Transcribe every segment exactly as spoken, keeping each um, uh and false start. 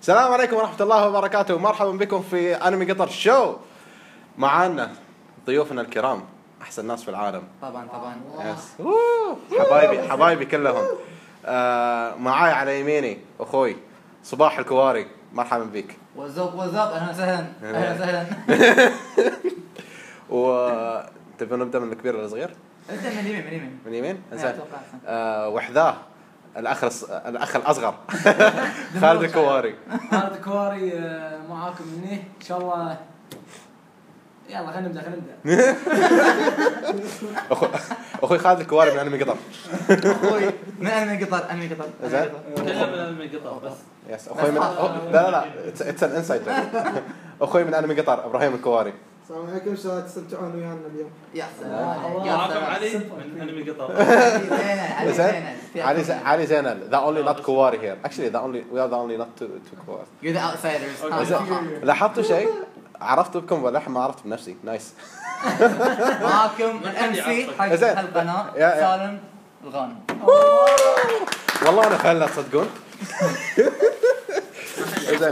السلام عليكم ورحمة الله وبركاته. مرحبا بكم في أنمي قطر شو. معانا ضيوفنا الكرام أحسن ناس في العالم. طبعا طبعا يس. حبايبي حبايبي كلهم. آه معاي على يميني أخوي صباح الكواري. مرحبا بك. وزوب وزوب أهلا وسهلا أهلا وسهلا. وتبي نبدأ من الكبير للصغير؟ ابدأ من اليمين من اليمين من اليمين. آه وحذاه الأخ الأخ الأصغر خالد الكواري. خالد الكواري معاكم مني إن شاء الله. يلا خلينا نبدأ خلينا نبدأ. أخوي خالد الكواري من أنمي قطر. أخوي من أنمي قطر أنمي قطر. زين. كلنا من أنمي قطر بس. يس أخوي من لا لا لا it's an insight. أخوي من أنمي قطر إبراهيم الكواري. السلام عليكم. شلون تستمتعون ويانا اليوم؟ يا سلام. معكم علي من أنمي قطر. علي زينل. علي زينل. علي زينل. The only not كواري here. Actually the only we are the only not to to كواري. You're the outsiders. لاحظتوا شيء؟ عرفت بكم ولا ما عرفت بنفسي. نايس. معاكم من أم سي حق القناة سالم الغانم. والله أنا فعلا تصدقون. زين.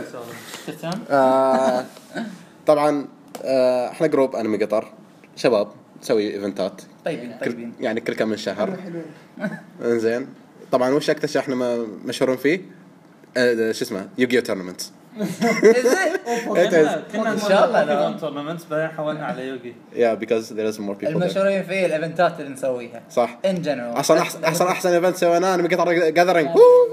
طبعا احنا جروب أنمي قطر شباب نسوي ايفنتات طيبين طيبين يعني كل كم من شهر. زين. طبعا وش اكثر احنا مشهورين فيه أه شو اسمه يوغيو تورنمنت. كنا ان شاء الله تورنمنت بعدين حولنا على يوغي. yeah because there is more people. المشهورين فيه الايفنتات اللي نسويها صح in general. اصلا احسن احسن احسن ايفنت سويناه أنمي قطر جاذرينج.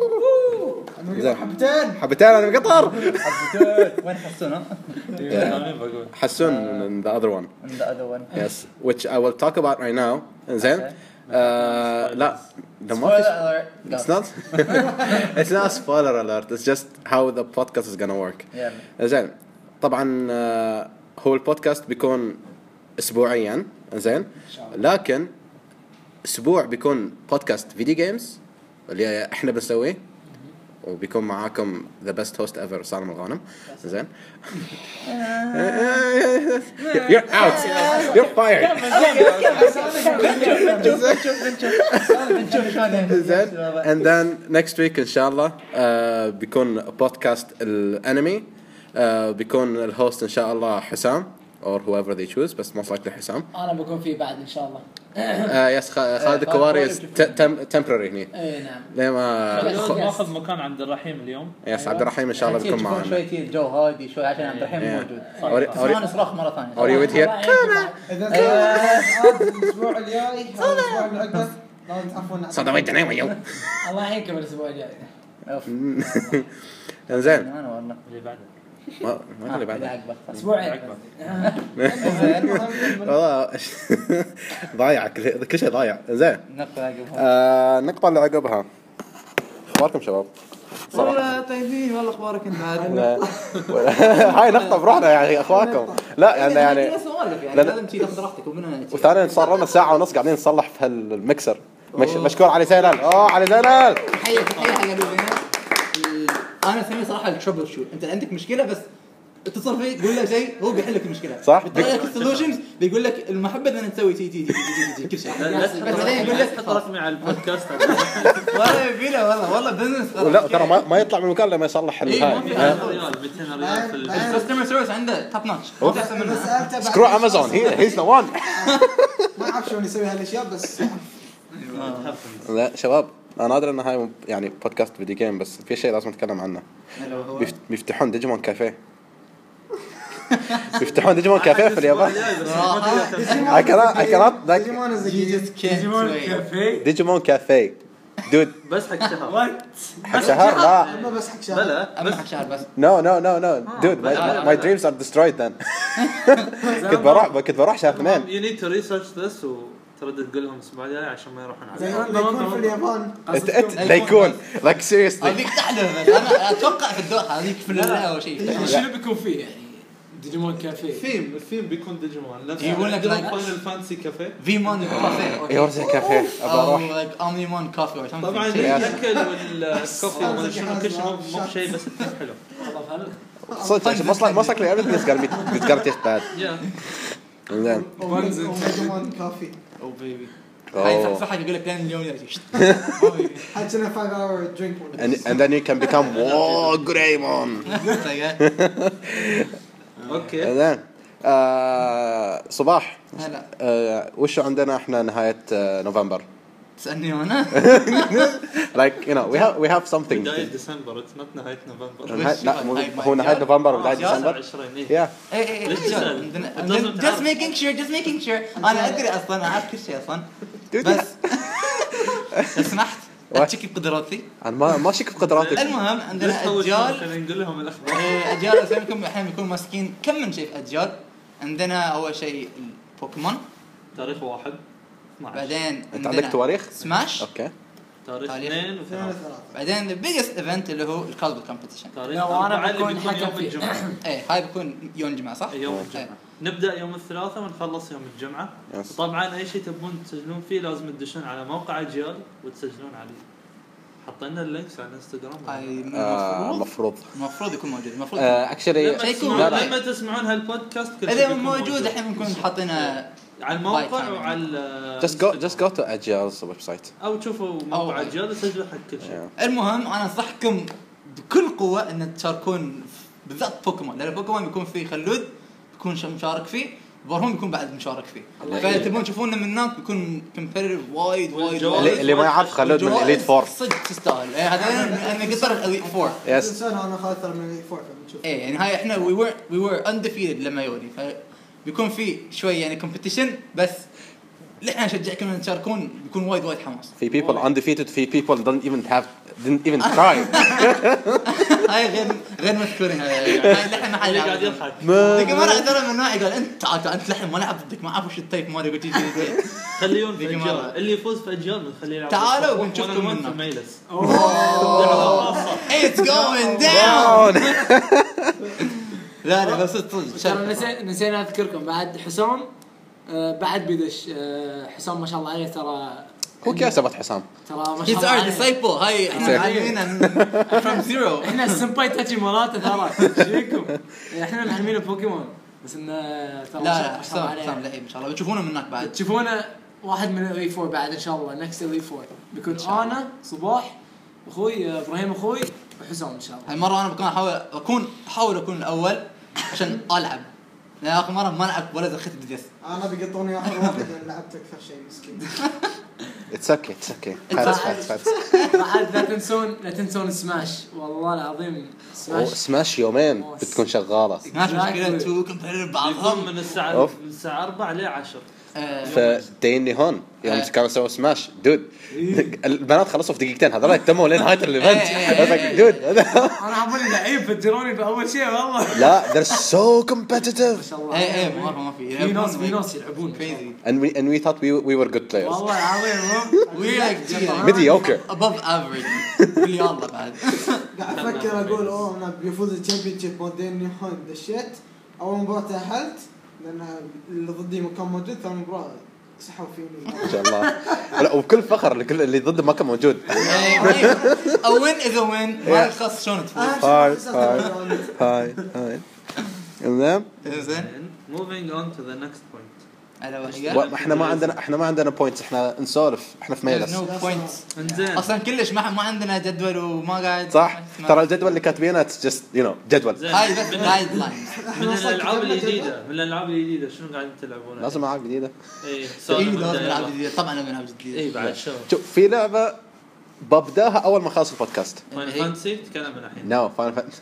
حبتين حبتين أنمي قطر. وين حسون؟ حسون the other one. the other one yes which I will talk about right now. زين. لا the spoiler alert. it's not it's not spoiler alert. It's just how the podcast is gonna work. زين. طبعا هو البودكاست بيكون أسبوعيا. زين. لكن أسبوع بيكون بودكاست فيديو جيمز اللي احنا بنسويه وبيكون معاكم the best host ever سالم الغانم. زين. you're out you're fired. زين. and then next week إن شاء الله بيكون بودكاست الأنمي. بيكون الهوست إن شاء الله حسام or whoever they choose بس most likely حسام. أنا بكون فيه بعد إن شاء الله. يس خالد الكواري temporary هني. إيه نعم. ليه ما ناخذ مكان عبد الرحيم اليوم. يس عبد الرحيم إن شاء الله بيكون معنا. شوي تي الجو هادي شوي عشان عبد الرحيم موجود. أوري نصرخ مرة ثانية. أوري with here. إذا الأسبوع الجاي أو الأسبوع اللي عقبه لازم تعرفون. صدق وين تنام اليوم. الله يعينكم الأسبوع الجاي. إنزين. اللي بعده. ما ما اللي بعده. أسبوعين. والله ضايع كل كل شيء ضايع. إنزين. نقطة عقبها. آه النقطة اللي عقبها. أخباركم شباب؟ والله طيبين والله أخبارك أنت عاد. هاي نقطة بروحنا يعني أخوانكم. لا يعني يعني. لازم تيجي تاخذ راحتك ومنها. وثانيا صار لنا ساعة ونص قاعدين نصلح في هالمكسر. مش مشكور علي زينل. أوه علي زينل. تحية تحية حق أبو زينل. أنا أسميه صراحة التربل شوت. أنت عندك مشكلة بس اتصل فيه قول له شيء هو بيحل لك المشكلة. صح. بيطلع لك السولوشنز بيقول لك المحبة إن نسوي تي تي تي تي كل شيء. بعدين يقول لك حط رسمي على البودكاست. والله يبيله والله والله بزنس. لا ترى ما ما يطلع من المكان لما يصلح الهاي. ريال مئتين ريال في الكاستمر سيرفيس عنده توب نوتش. سكرو أمازون هي هيز ذا وان. ما أعرف شلون يسوي هالأشياء بس. لا شباب أنا أدري إن هاي يعني بودكاست فيديو جيم بس في شيء لازم نتكلم عنه. بيفتحون ديجيمون كافيه. بيفتحون ديجيمون كافيه في اليابان. I cannot I cannot ديجيمون كافيه. ديجيمون كافيه دود بس حق شهر. حق شهر لا. ما بس حق شهر. لا بس حق شهر بس. no no no no dude my my dreams are destroyed then. كنت بروح كنت بروح شهر اثنين. You need to research this وتردد تقول لهم الأسبوع الجاي عشان ما يروحون على. زين بيكون في اليابان. بيكون like seriously. هذيك تحدث أنا أتوقع في الدوحة هذيك في اللا أو شيء. شنو بيكون فيه يعني؟ ديجيمون كافيه. فيلم الفيلم بيكون ديجيمون. يقول لك فاينل فانسي كافيه. فيمون كافيه. ايه ورزة كافيه أو like أومنيمون كافيه أو شيء. طبعا الأكل والكوفي وما شنو كل شيء مو شيء بس حلو. صدق most most likely everything is gonna be it's gonna taste bad. Yeah. زين. ديجيمون كافي. أو بيبي. هاي Oh. صح يقول لك لين اليوم يجي حتى أنا five hour drink one. and and then you can become whoa Greymon. اوكي. and then آه صباح هلا آه وشو عندنا احنا نهاية آه نوفمبر تسألني أنا like you know we have we have something بداية ديسمبر اتس نوت نهاية نوفمبر. نهاية- لا مو- هاي- هو نهاية نوفمبر وبداية عشرة ديسمبر عشرين إيه. yeah اي اي ليش تسأل؟ عندنا It عندنا- doesn't just have- making sure just making sure انا ادري اصلا اعرف كل شيء اصلا Dude, بس لو سمحت What? اتشكي بقدراتي. انا ما ما شك بقدراتي المهم ليش عندنا توجهنا اجيال خلينا نقول لهم الاخبار. إيه، اجيال اساميكم احيانا بيكونوا ماسكين كم من شيء في اجيال. عندنا اول شيء البوكيمون، تاريخ واحد اثناشر. بعدين انت عندك تواريخ سماش، اوكي تاريخ تاريخ. اثنين اثنين وثلاثة. وثلاثة. بعدين ذا بيجست ايفنت اللي هو الكالبل كومبيتيشن. تاريخ لا، وأنا أربعة اللي بكون بيكون حكم يوم فيه. الجمعة. ايه هاي بيكون يوم الجمعه صح؟ يوم إيه. الجمعة نبدأ يوم الثلاثاء ونخلص يوم الجمعة. Yes. طبعا أي شيء تبون تسجلون فيه لازم تدشون على موقع أجيال وتسجلون عليه. حطينا اللينكس على الانستغرام. هاي آه، المفروض المفروض المفروض يكون موجود المفروض اكشلي لما شيء تسمعون لا لا لما تسمعون هالبودكاست كل شيء اذا بيكون موجود الحين بنكون حاطينه على الموقع وعلى just go just go to Agil's website او تشوفوا موقع أو- أجيال وسجلوا حق كل شيء. yeah. المهم انا انصحكم بكل قوه ان تشاركون بالذات بوكيمون، لان بوكيمون بيكون فيه خلود بيكون ش- مشارك فيه، بارهون بيكون بعد مشارك فيه. فاذا تبون تشوفونه من هناك بيكون كومبيتيتيف وايد وايد والجوائز- اللي, وايد. اللي ما يعرف خلود من والجوائز اليت فور صدق تستاهل. إيه، هذا انا قطر الاليت فور. يس تنسون انا خالد ترى من فور فبنشوف. ايه يعني هاي احنا وي ور وي ور انديفيتد لما يوري، فبيكون في شوي يعني كومبيتيشن، بس اللي احنا نشجعكم ان تشاركون بيكون وايد وايد حماس. في people undefeated في people don't even have didn't even try هاي غير غير مذكورين هاي هاي اللي احنا ما حد اللي قاعد يعرف. يضحك. ذيك مرة ترى من نوعي قال انت تعال تعال انت لحم ما لعب ضدك ما اعرف وش التايب مالي قلت يجي خليون في ذيك أجيال مرة. اللي يفوز في أجيال بنخليه يلعب تعالوا بالصفوف ونشوفكم وأنا وأنت منه. في ميلس. It's going down. لا لا بس صدق ترى نسي- نسينا اذكركم بعد حسام آه، بعد بيدش آه، حسام ما شاء الله عليه ترى هو كيف سبت حسام ترى ما He's شاء الله our عليه. disciple. هاي احنا معلمين from zero. احنا السمباي تاتشي مالاته ترى شيكم احنا معلمين بوكيمون بس انه ترى لا ما شاء- لا ما شاء الله حسام حسام عليه لعيب ان شاء الله بتشوفونه من هناك بعد. تشوفونه واحد من الاي فور بعد ان شاء الله نكست الاي فور بيكون شاء الله. انا صباح اخوي آه، ابراهيم اخوي وحسام ان شاء الله. هالمرة انا بكون احاول اكون احاول اكون الاول عشان العب. لان اخر مرة ما لعبت ولا دخلت بالجس. انا بيقطوني اخر واحد لان لعبت اكثر شيء مسكين. it's okay it's okay فاتس فاتس فاتس بعد لا تنسون لا تنسون سماش والله العظيم سماش سماش يومين بتكون شغالة ماشي مشكلة تو كومبيتيتيف يكون بعضهم. من الساعة أوف. من الساعة أربعة ل عشرة. آه، فديني هون يوم آه. كانوا سووا سماش دود البنات خلصوا في دقيقتين هذول يتموا لين نهاية الايفنت إيه. دود انا عبوني لعيب فجروني باول شيء والله لا they're so ما competitive شاء الله. ايه ايه ما ما في في ناس في ناس يلعبون كريزي. and we and we thought we we were good players والله العظيم وي لايك mediocre above average. قول يلا بعد. قاعد افكر اقول اوه انا بيفوز الشامبيون شيب مودين هون دشيت اول مباراة تأهلت لان اللي ضدي ما كان موجود، ثاني مباراة سحبوا فيني. ما شاء الله لا وبكل فخر اللي كل اللي ضده ما كان موجود اوين اذا وين ما يخص شلون تفوز. هاي هاي هاي هاي المهم زين Moving on to the next point. على و- وحده احنا ما عندنا احنا ما عندنا بوينتس احنا نسولف احنا في ميلس نو بوينتس انزين. اصلا كلش ما ما عندنا جدول وما قاعد صح ترى الجدول اللي كاتبينه اتس جست يو نو جدول زين. هاي بس من- جايد لاينز. من الالعاب الجديده من الالعاب الجديده شنو قاعدين تلعبون؟ لازم العاب جديده اي اي سؤال لازم مبدئي نلعب يلا. جديد طبعا لازم نلعب جديد. اي بعد شو شوف في لعبه ببداها اول ما خلص البودكاست فاين هي- فانسي تكلم من الحين. نو فاين فان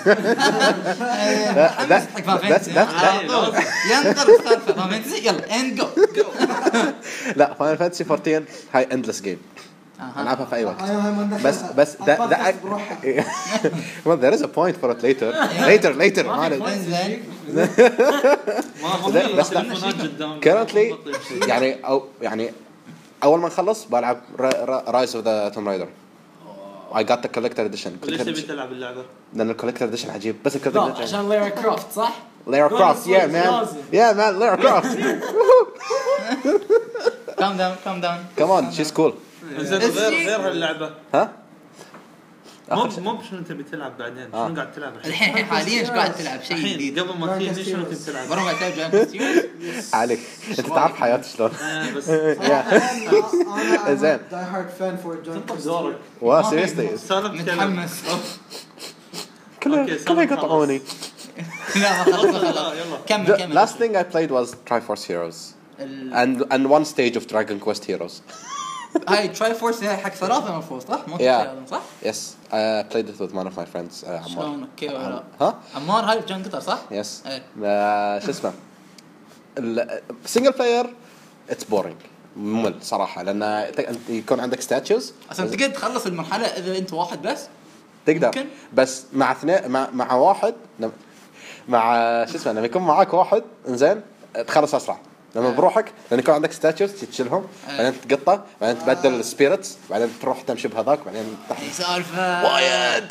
حمس حق فانتسي ينطر السالفه فانتسي يلا اند جو. لا فاين فانتسي أربعة عشر هاي اندلس جيم العبها في اي وقت هاي هاي ما بس بس ده ده بروحها. well there is a point for it later later later ما عليه. انزين ما ما لا، في بس لا. تلفونات قدام currently يعني او يعني اول ما نخلص بلعب رايز اوف ذا توم رايدر I got the collector edition ليش تبي تلعب اللعبه؟ لان الكولكتر اديشن عجيب بس الكولكتر لا، عشان ليرا كرافت صح؟ Lara Croft yeah man لازم. yeah man Lara Croft كام داون كام داون. come on she's cool زين غير غير هاللعبه ها مو مو شنو تبي تلعب بعدين شنو قاعد تلعب الحين الحين حاليا ايش قاعد تلعب شيء جديد قبل ما تجي شنو كنت تلعب برا قاعد تلعب جاين كوستيوم عليك انت تعرف حياتي شلون بس انا زين. داي هارد فان فور جون تنطق دورك وا سيريسلي سالفه متحمس كله كله يقطعوني. لا خلاص خلاص يلا كمل The كمل last thing I played was Triforce Heroes and and one stage of Dragon Quest Heroes. هاي تراي فورس هاي حق ثلاثة المفروض صح؟ مو Yeah. صح؟ Yes, I played it with one of my friends. Uh, عمار. شلون اوكي ولا ها؟ عمار هاي جان قطر صح؟ Yes. إيه. Uh, شو اسمه؟ السنجل بلاير it's boring. ممل صراحة لأن ت- يكون عندك statues. اصلا تقدر تخلص المرحلة اذا انت واحد بس تقدر ممكن. بس مع اثنين مع مع واحد لما- مع شو اسمه لما يكون معاك واحد انزين تخلص اسرع لما بروحك لان يكون عندك ستاتشوز تشيلهم بعدين تقطه بعدين تبدل السبيرتس بعدين تروح تمشي بهذاك بعدين تحت اي سالفة وايد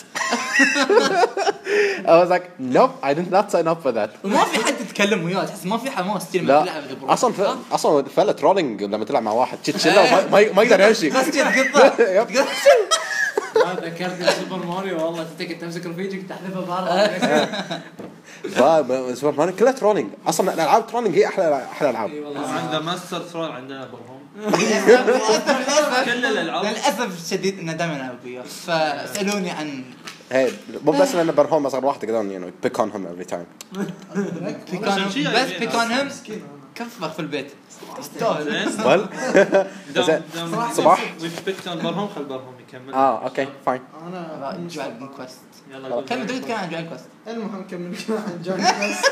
I was like nope I did not sign up for that. وما في حد تتكلم وياه تحس ما في حماس تلعب لا تلعب بروحك. اصلا ف... اصلا فعلا ترولينج لما تلعب مع واحد تشيله وما- ما ما يقدر يمشي. بس كذا قطة يب. ما ذكرتني سوبر ماريو والله تتك تمسك رفيجك تحذفه برا فا- سوبر ماريو كلها ترولينج اصلا الالعاب ترولينج هي احلى احلى العاب. اي والله عندنا ماستر ثرول عندنا برهم للأسف كل الألعاب. للأسف الشديد إنه دائما ألعب وياه فاسألوني عن هي مو بس لان برهوم اصغر واحد تقدرون يعني بيك اون هم افري تايم. بيكون شي بس يعني بيكون هم مسكين كفخ في البيت تستاهل زين ويل زين. دام صباح. ويش برهم خل برهم يكمل اه اوكي فاين. انا جوال كويست يلا قول. كم بدك تتكلم عن جوال كويست المهم كمل عن جون كويست.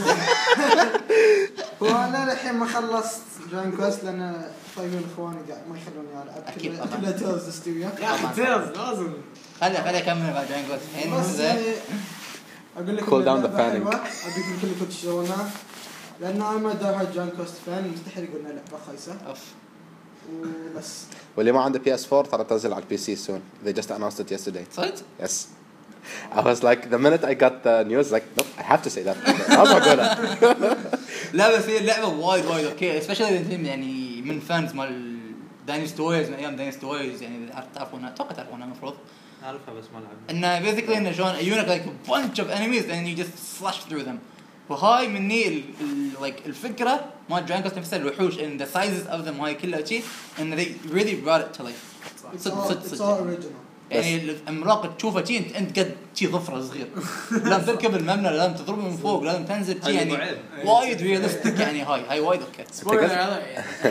وانا الحين ما خلصت جون كويست لان طيبين اخواني قاعد ما يخلوني العب أكيد كلها طبعاً. كلها تيلز استويا. يا اخي تيلز لازم خلي خلي أكمل بعد جوال كويست الحين بس زين يعني اقول لك Cool إن down the اللعبة fanning. حلوة، اقول لكم كلكم تشترونها لان انا ما داي هارد جون كويست فان مستحيل يقولنا لعبه خايسه أوف وبس. واللي ما عنده بي اس فور ترى تنزل على البي سي soon. They just announced it yesterday. صدق؟ Yes. I was like the minute I got the news like nope I have to say that. لازم اقولها. لا بس هي اللعبة وايد وايد أوكي especially إذا أنت يعني من فانز مال داينستي ووريرز من أيام داينستي ووريرز يعني إذا تعرفونها أتوقع تعرفونها المفروض أعرفها بس ما لعبنا إنه basically إنه شلون يجونك like a bunch of enemies and you just slash through them وهاي مني ال ال like الفكرة ما جوين كوست نفسها الوحوش and the sizes of them هاي كلها شيء إن they really brought it to life It's صدق all, صدق it's all صدق original. يعني العملاق تشوفه شيء انت انت قد شيء ظفره صغير لازم تركب المبنى لازم تضربه من فوق لازم تنزل شيء يعني هاي وايد ريالستيك يعني هاي هاي وايد اوكي سبويلر هذا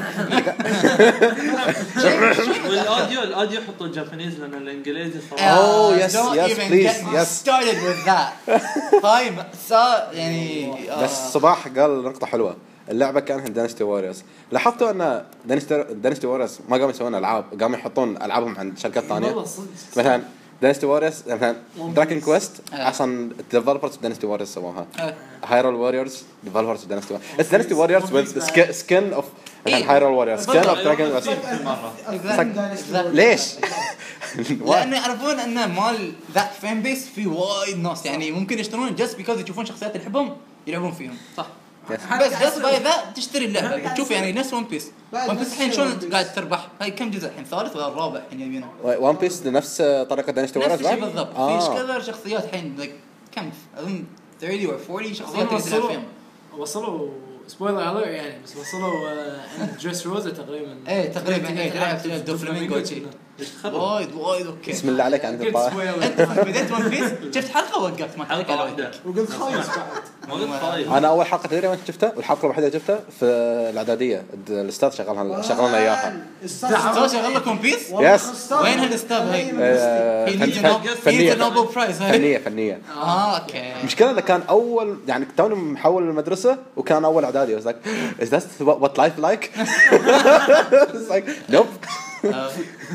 والأوديو الأوديو حطوا الجابانيز لأن الإنجليزي صراحة Oh, yes, Don't yes, even please, get me yes. started with that هاي مأساة يعني آه. بس صباح قال نقطة حلوة. اللعبة كانها دانستي ووريرز. لاحظتوا ان دانستي دانستي ووريرز ما قاموا يسوون العاب قاموا يحطون العابهم عند شركات ثانية. والله صدق مثلا دانستي ووريرز مثلا دراكن كويست آه. اصلا الديفلوبرز دانستي ووريرز سووها. آه. هايرول ووريرز ديفلوبرز دانستي ووريرز. اتس دانستي ووريرز with skin of إيه. هايرول ووريرز skin of dragon في مرة ليش؟ لأن يعرفون أن مال ذات فان بيس في وايد ناس يعني ممكن يشترون just because يشوفون شخصيات اللي يحبهم يلعبون فيهم صح بس just by that تشتري اللعبة تشوف يعني نفس ون بيس ون بيس الحين شلون قاعد تربح هاي كم جزء الحين ثالث ولا الرابع الحين يبينه ون بيس نفس طريقة دانستي نفس ووريرز الشيء بالضبط في آه. كذا شخصيات الحين like كم اظن ثلاثين or أربعين شخصيات أظن تقدر تلعب وصلوا فيهم وصلوا سبويلر اليرت يعني بس وصلوا عند دريس روزا تقريبا ايه تقريبا ايه تلعب دوفلامينغو شيء ليش تخرب وايد وايد اوكي بسم الله عليك عندي قلت طاح. سبويلر انت بديت ون بيس شفت حلقه وقفت ما حلقة تعرف واحدة وقلت خايس بعد. ما قلت خايف انا اول حلقه تدري وين شفتها والحلقه الوحيده اللي شفتها في الاعداديه الاستاذ شغلها شغلنا اياها. سوى شغل لك ون بيس يس. وين هالاستاذ هاي؟ آه، هي فن- نيدز فن- فنيه فنيه نوبل برايز هاي فنيه فنيه. اه اوكي المشكله انه كان اول يعني توني محول المدرسه وكان اول اعدادي. I was like is that what life like? It's like nope. آه.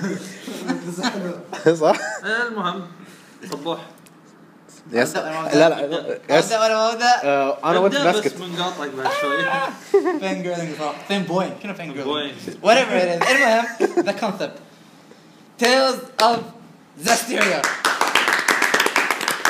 صح. المهم صبوح يس أبدأ لا ولا ما لا يس ابدا ولا ما ابدا آه، انا وانت ابدأ باسكت. بس بنقاطعك بعد شوي فين جيرلينج صراحه فين بوين كنا فين جيرلينج Boing. whatever it is المهم the concept Tales of Zestiria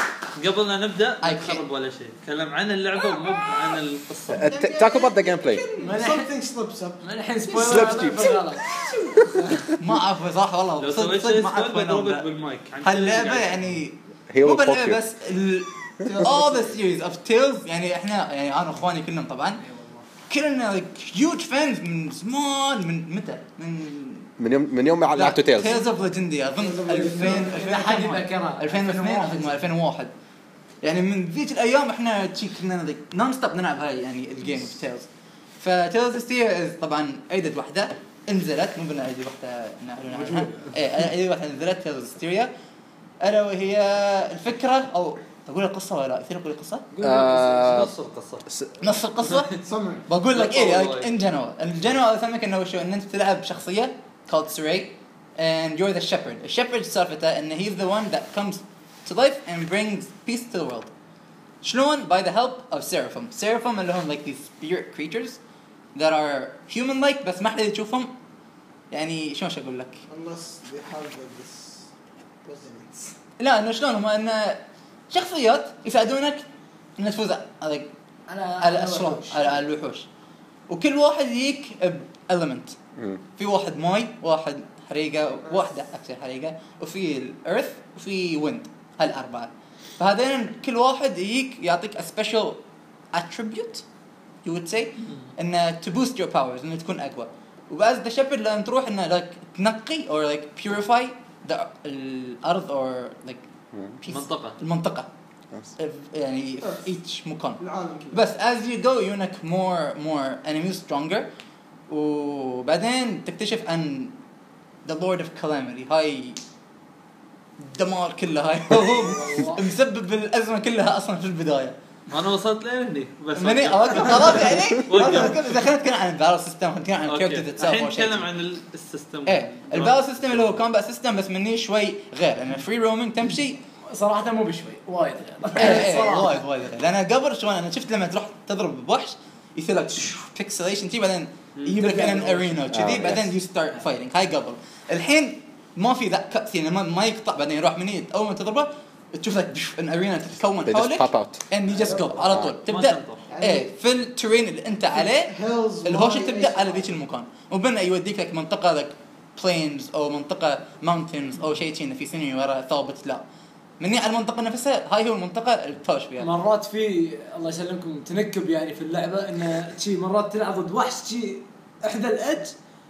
قبل لا نبدا I نخرب ولا شيء نتكلم عن اللعبه ومو عن القصه. Uh, t- talk about the gameplay. something slips up. الحين Slap سبويلر tips. غلط. ما اعرف صراحه والله لو صدق سويت صدق شيء ما اعرف سبويل وين بضربك أبدأ. بالمايك. هاللعبه يعني هي مو will fuck باللعبه you. بس ال all the series of Tales يعني احنا يعني انا واخواني كلهم طبعا كلنا like huge fans من زمان من متى من من يوم من يوم ما لعبتوا تيلز. Tales of Legendia اظن ألفين إذا حد يذكرها. ألفين واثنين أو ألفين وواحد يعني من ذيك الايام احنا شي كنا نون ستوب نلعب هاي يعني الجيم اوف تيلز. فتيلز ستير طبعا ايدد واحده نزلت مو بنا ايدد واحده نعلن عنها ايه ايدد واحده نزلت تيلز ستيريا الا وهي الفكره او اقول القصه ولا لا يصير اقول القصه آه، نص القصه نص القصه سمع. بقول لك ايه والله. like in general in general افهمك انه شو ان انت تلعب شخصيه called Saray and you're the shepherd. The shepherd سالفته ان he's the one that comes to life and brings peace to the world. شلون؟ by the help of Seraphim. Seraphim اللي هم like these spirit creatures that are human like بس ما حد يشوفهم يعني شلون اقول لك؟ unless they have this resonance. لا انه شلون هم انه شخصيات يساعدونك ان تفوز على على الاشرار على الوحوش وكل واحد يجيك element. مم. في واحد ماي واحد حريقه واحده اكثر حريقه وفي الارث وفي ويند هالاربعه. فهذين كل واحد يجيك يعطيك a special attribute you would say انه to boost your powers انه تكون اقوى. وبعد ذا شيبرد لما تروح انه like تنقي or like purify the الارض or like peace. منطقة. المنطقه Yes. يعني في each مكان. العالم كله. بس as you go يونك more more enemies stronger وبعدين تكتشف ان the Lord of Calamity هاي دمار كله هاي هو مسبب الأزمة كلها أصلا في البداية. انا وصلت لهني بس مني أوقف خلاص يعني وقف. إذا خلينا نتكلم عن البارل سيستم نتكلم عن أوكي. الكاركتر تساوي الحين نتكلم عن السيستم. إيه البارل سيستم اللي هو كومبات سيستم بس مني شوي غير لأن فري رومينج تمشي صراحة مو بشوي وايد إيه إيه وايد وايد غير. لأن قبل شلون أنا شفت لما تروح تضرب بوحش يصير لك بيكسليشن تي بعدين يجيب لك ان ارينا وكذي آه، بعدين يو ستارت فايتنج هاي قبل. الحين ما في ذا كات سين ما, ما يقطع بعدين يروح مني اول ما تضربه تشوف لك ان ارينا تتكون They just حولك pop out. and you just go على طول ما تبدا تنطر. ايه في الترين اللي انت عليه Hills, الهوشه ما- تبدا على ذيك المكان وبنا يوديك لك منطقه لك بلينز او منطقه ماونتنز او شيء كذي في سيناريو ورا ثابت لا مني على المنطقه نفسها هاي هو المنطقه اللي تهوش فيها. مرات في الله يسلمكم تنكب يعني في اللعبة انه شي مرات تلعب ضد وحش شي احدى الادج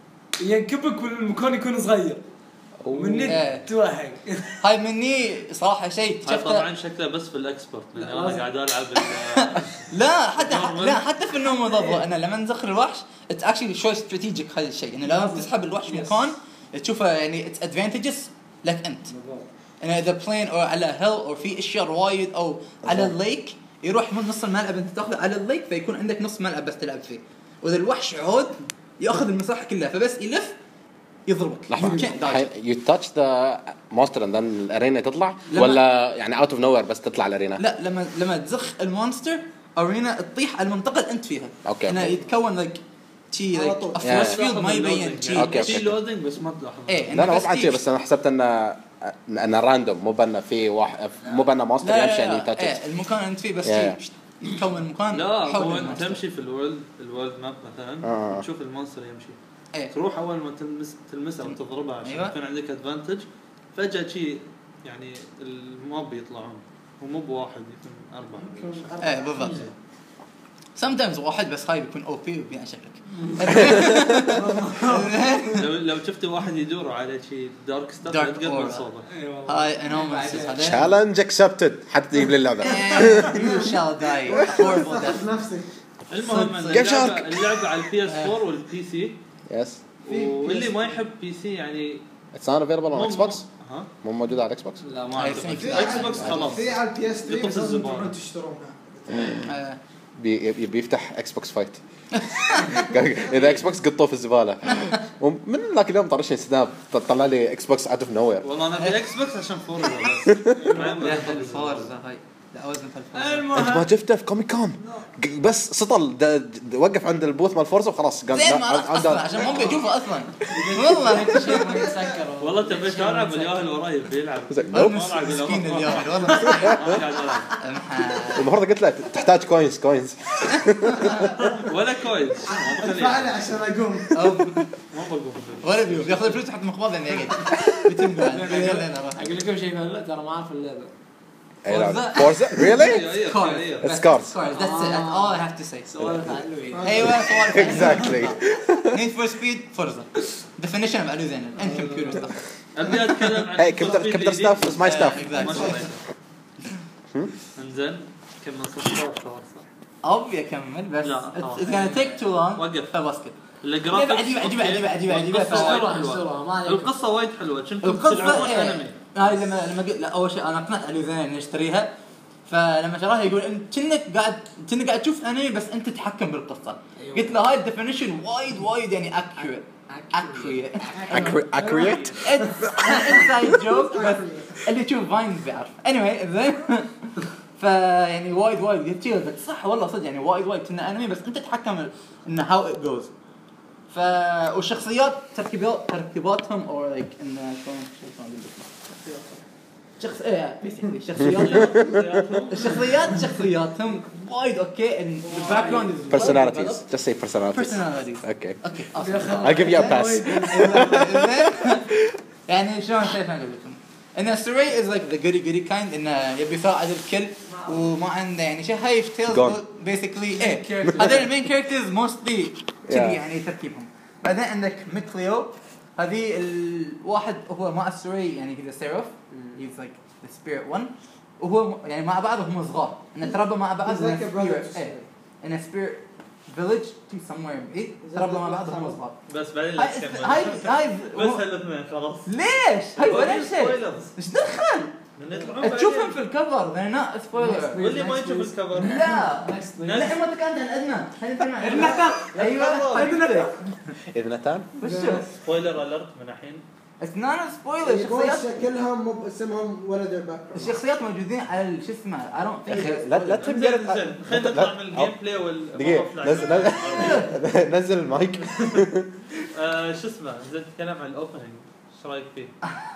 ينكبك والمكان يكون صغير من إيه. نت توهق. هاي مني صراحه شيء هاي اكتشفته طبعا شكله بس في الاكسبرت لان لا، انا لازم. قاعد العب ال- لا حتى Normal. لا حتى في النوم ضبط انا لما نزخر الوحش اتس اكشلي شوي استراتيجيك هذا الشيء انه لازم تسحب الوحش Yes. مكان تشوفه يعني اتس ادفانتجز لك انت انه اذا بلين او على هيل او في اشياء وايد او على الليك يروح من نص الملعب انت تاخذه على الليك فيكون عندك نص ملعب بس تلعب فيه واذا الوحش عود ياخذ المساحه كلها فبس يلف يضربك لحظة You can't dodge. you touch the monster and then الارينا تطلع لما- ولا يعني out of nowhere بس تطلع الارينا؟ لا لما لما تزخ المونستر ارينا تطيح على المنطقه اللي انت فيها أوكي. انه يتكون لك شي على like طول. a force Yeah. field ما يبين شي أوكي، في أوكي. لودينج بس ما تلاحظ. إيه. لا لا مو بس بعد شيء تيجي. بس انا حسبت انه انه راندوم مو بأنه في واحد مو بأنه مونستر لا يمشي لا يعني لا تاتش. ايه المكان اللي انت فيه بس Yeah. شي يتكون مكان لا حول هو انت المونستر. تمشي في الورلد الورلد ماب مثلا آه. تشوف المونستر يمشي ايه تروح اول ما تلمس تلمسه وتضربه عشان أيوة. يكون عندك ادفانتج فجاه شي يعني الموب يطلعون ومو بواحد يكون اربعه. ايه بالضبط sometimes واحد بس هاي بيكون او بي وبيان شكلك. لو لو شفت واحد يدور على شي دارك ستاف Dark تقبل aura. صوبه. هاي انوماليز هذا challenge accepted حتى تجيب لي اللعبة. you shall die horrible death. نفسك. المهم ان Game اللعبه Shark. اللعبه على البي اس فور والبي سي yes واللي ما يحب بي سي يعني it's not available on مو- Xbox ها مو موجود على Xbox. لا I ما think اعتقد so. اكس بوكس خلاص في على البي اس ثري يطفي بس لازم الزبالة. تروحون تشترونها. آه، بي بيفتح اكس بوكس فايت. اذا اكس بوكس قطوه في الزباله. ومن ذاك اليوم طرشني سناب طلع لي اكس بوكس اوت اوف نو وير. والله انا في اكس بوكس عشان فورزا بس يا أخي الفورزا هاي لا وزن في انت المهم ما شفته في كوميك كون بس سطل دا دا وقف عند البوث مال فورزا وخلاص قال زين ما عرفت اصلا عشان مو بيشوفه اصلا والله شيء ما يتسكر والله تبي تلعب الياهل وراي بيلعب مسكين الياهل والله المفروض قلت له تحتاج كوينز كوينز ولا كويس ادفع لي عشان اقوم ما بقوم ولا بيو بياخذ الفلوس تحت مقبض يعني يقعد بيتم يلا انا راح اقول لكم شيء هلا ترى ما اعرف اللعبه فورزا ريلي Scars. Scars. Scars. That's it. That's all I have to say. سوالف علوي أيوة سوالف. Exactly. Need for Speed Forza. Definition of علو زين. And computer stuff. ابي اتكلم عن Hey, computer computer stuff is my stuff. Exactly. انزين كمل صوت أبي أكمل بس. لا، It's it's gonna take too long. وقف. فبسكت. الجرافيكس عجيبة عجيبة عجيبة عجيبة عجيبة. القصة وايد حلوة كنتم القصة تلعبون إيه. انمي هاي لما لما قلت لا أول شيء أنا قنعت علو زين إني أشتريها. فلما شراها يقول انت كأنك قاعد كأنك قاعد تشوف انمي بس انت تتحكم بالقصه. أيوة. قلت له هاي الديفينيشن وايد وايد يعني accurate accurate Accurate accurate inside joke بس اللي يشوف فاين بيعرف anyway زين. فيعني وايد وايد قلت له بس صح والله صدق يعني وايد وايد كنا انمي بس انت تتحكم ان how it goes. ف والشخصيات تركيبات تركيباتهم or like ان شلون شلون اقول لك شخص ايه بيسكلي شخصيات الشخصيات شخصياتهم وايد اوكي ان الباك جراوند personalities just say personalities personalities okay اوكي I'll give you a pass يعني شلون كيف اقول لكم ان الستوري از لايك ذا جودي جودي كايند انه يبي يساعد الكل وما عنده يعني شيء هاي تيلز بيسكلي ايه هذول المين كاركترز موستلي يعني تركيبهم. بعدين عندك ميكليو هذه الواحد هو مع السوري يعني كذا سيروف he's like the spirit one وهو يعني مع بعض وهم صغار إن تربوا مع بعض in a spirit إيه in a spirit village to somewhere إيه تربوا مع بعض وهم صغار. بس بعدين لا تكمل هاي هاي بس هالاثنين خلاص ليش هاي ولا شيء إيش دخل تشوفهم في الكفر they're not spoiler واللي ما يشوف الكفر لا لا ما تكلمت عن أدنى النتان أيوة النتان إذا نتان وش سبويلر الرت من الحين it's not a spoiler الشخصيات شكلهم مو اسمهم ولا ذا باك الشخصيات موجودين على شو اسمه I don't think لا لا تبدأ خلينا نطلع من الجيم بلاي دقيقة نزل نزل المايك شو اسمه زين نتكلم عن الاوبننج ايش رايك فيه؟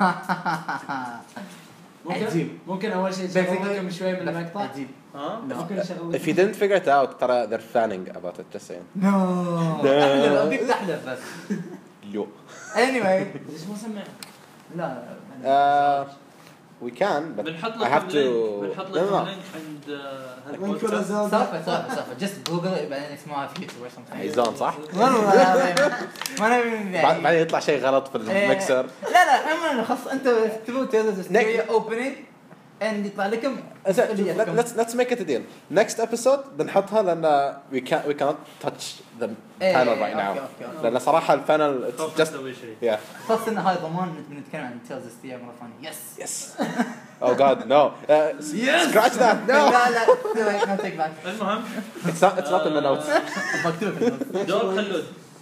عجيب. ممكن اول شيء شغلكم شوي من المقطع عجيب ها ممكن شغل if you didn't figure it out ترى they're fanning about it just saying no تحلف أبيك تحلف بس يو anyway ليش ما سمع لا Uh, we can but بنحط I لك have to اللينك بنحط no, لك no, no. اللينك عند من كل هالبودكاست زلدة سالفة سالفة سالفة just google it بعدين اسمعها في يوتيوب or something He's on صح؟ والله العظيم ما نبي بعد- بعدين يطلع شيء غلط في إيه. المكسر لا لا عموما خلاص انت تبغوا تيلز ستوري اوبننج and يطلع لكم زين let- let's let's make it a deal next episode بنحطها لأن we can't we cannot touch the إيه، panel right أوكي، now أوكي، أوكي. لأن صراحة البانل it's خوف just نسوي شيء yeah خاصة ان هاي ضمان بنتكلم عن تيلز ستوري مرة ثانية يس yes oh god no uh, scratch that no لا لا no take back المهم it's not it's not in the notes مكتوب في النص. دور خلود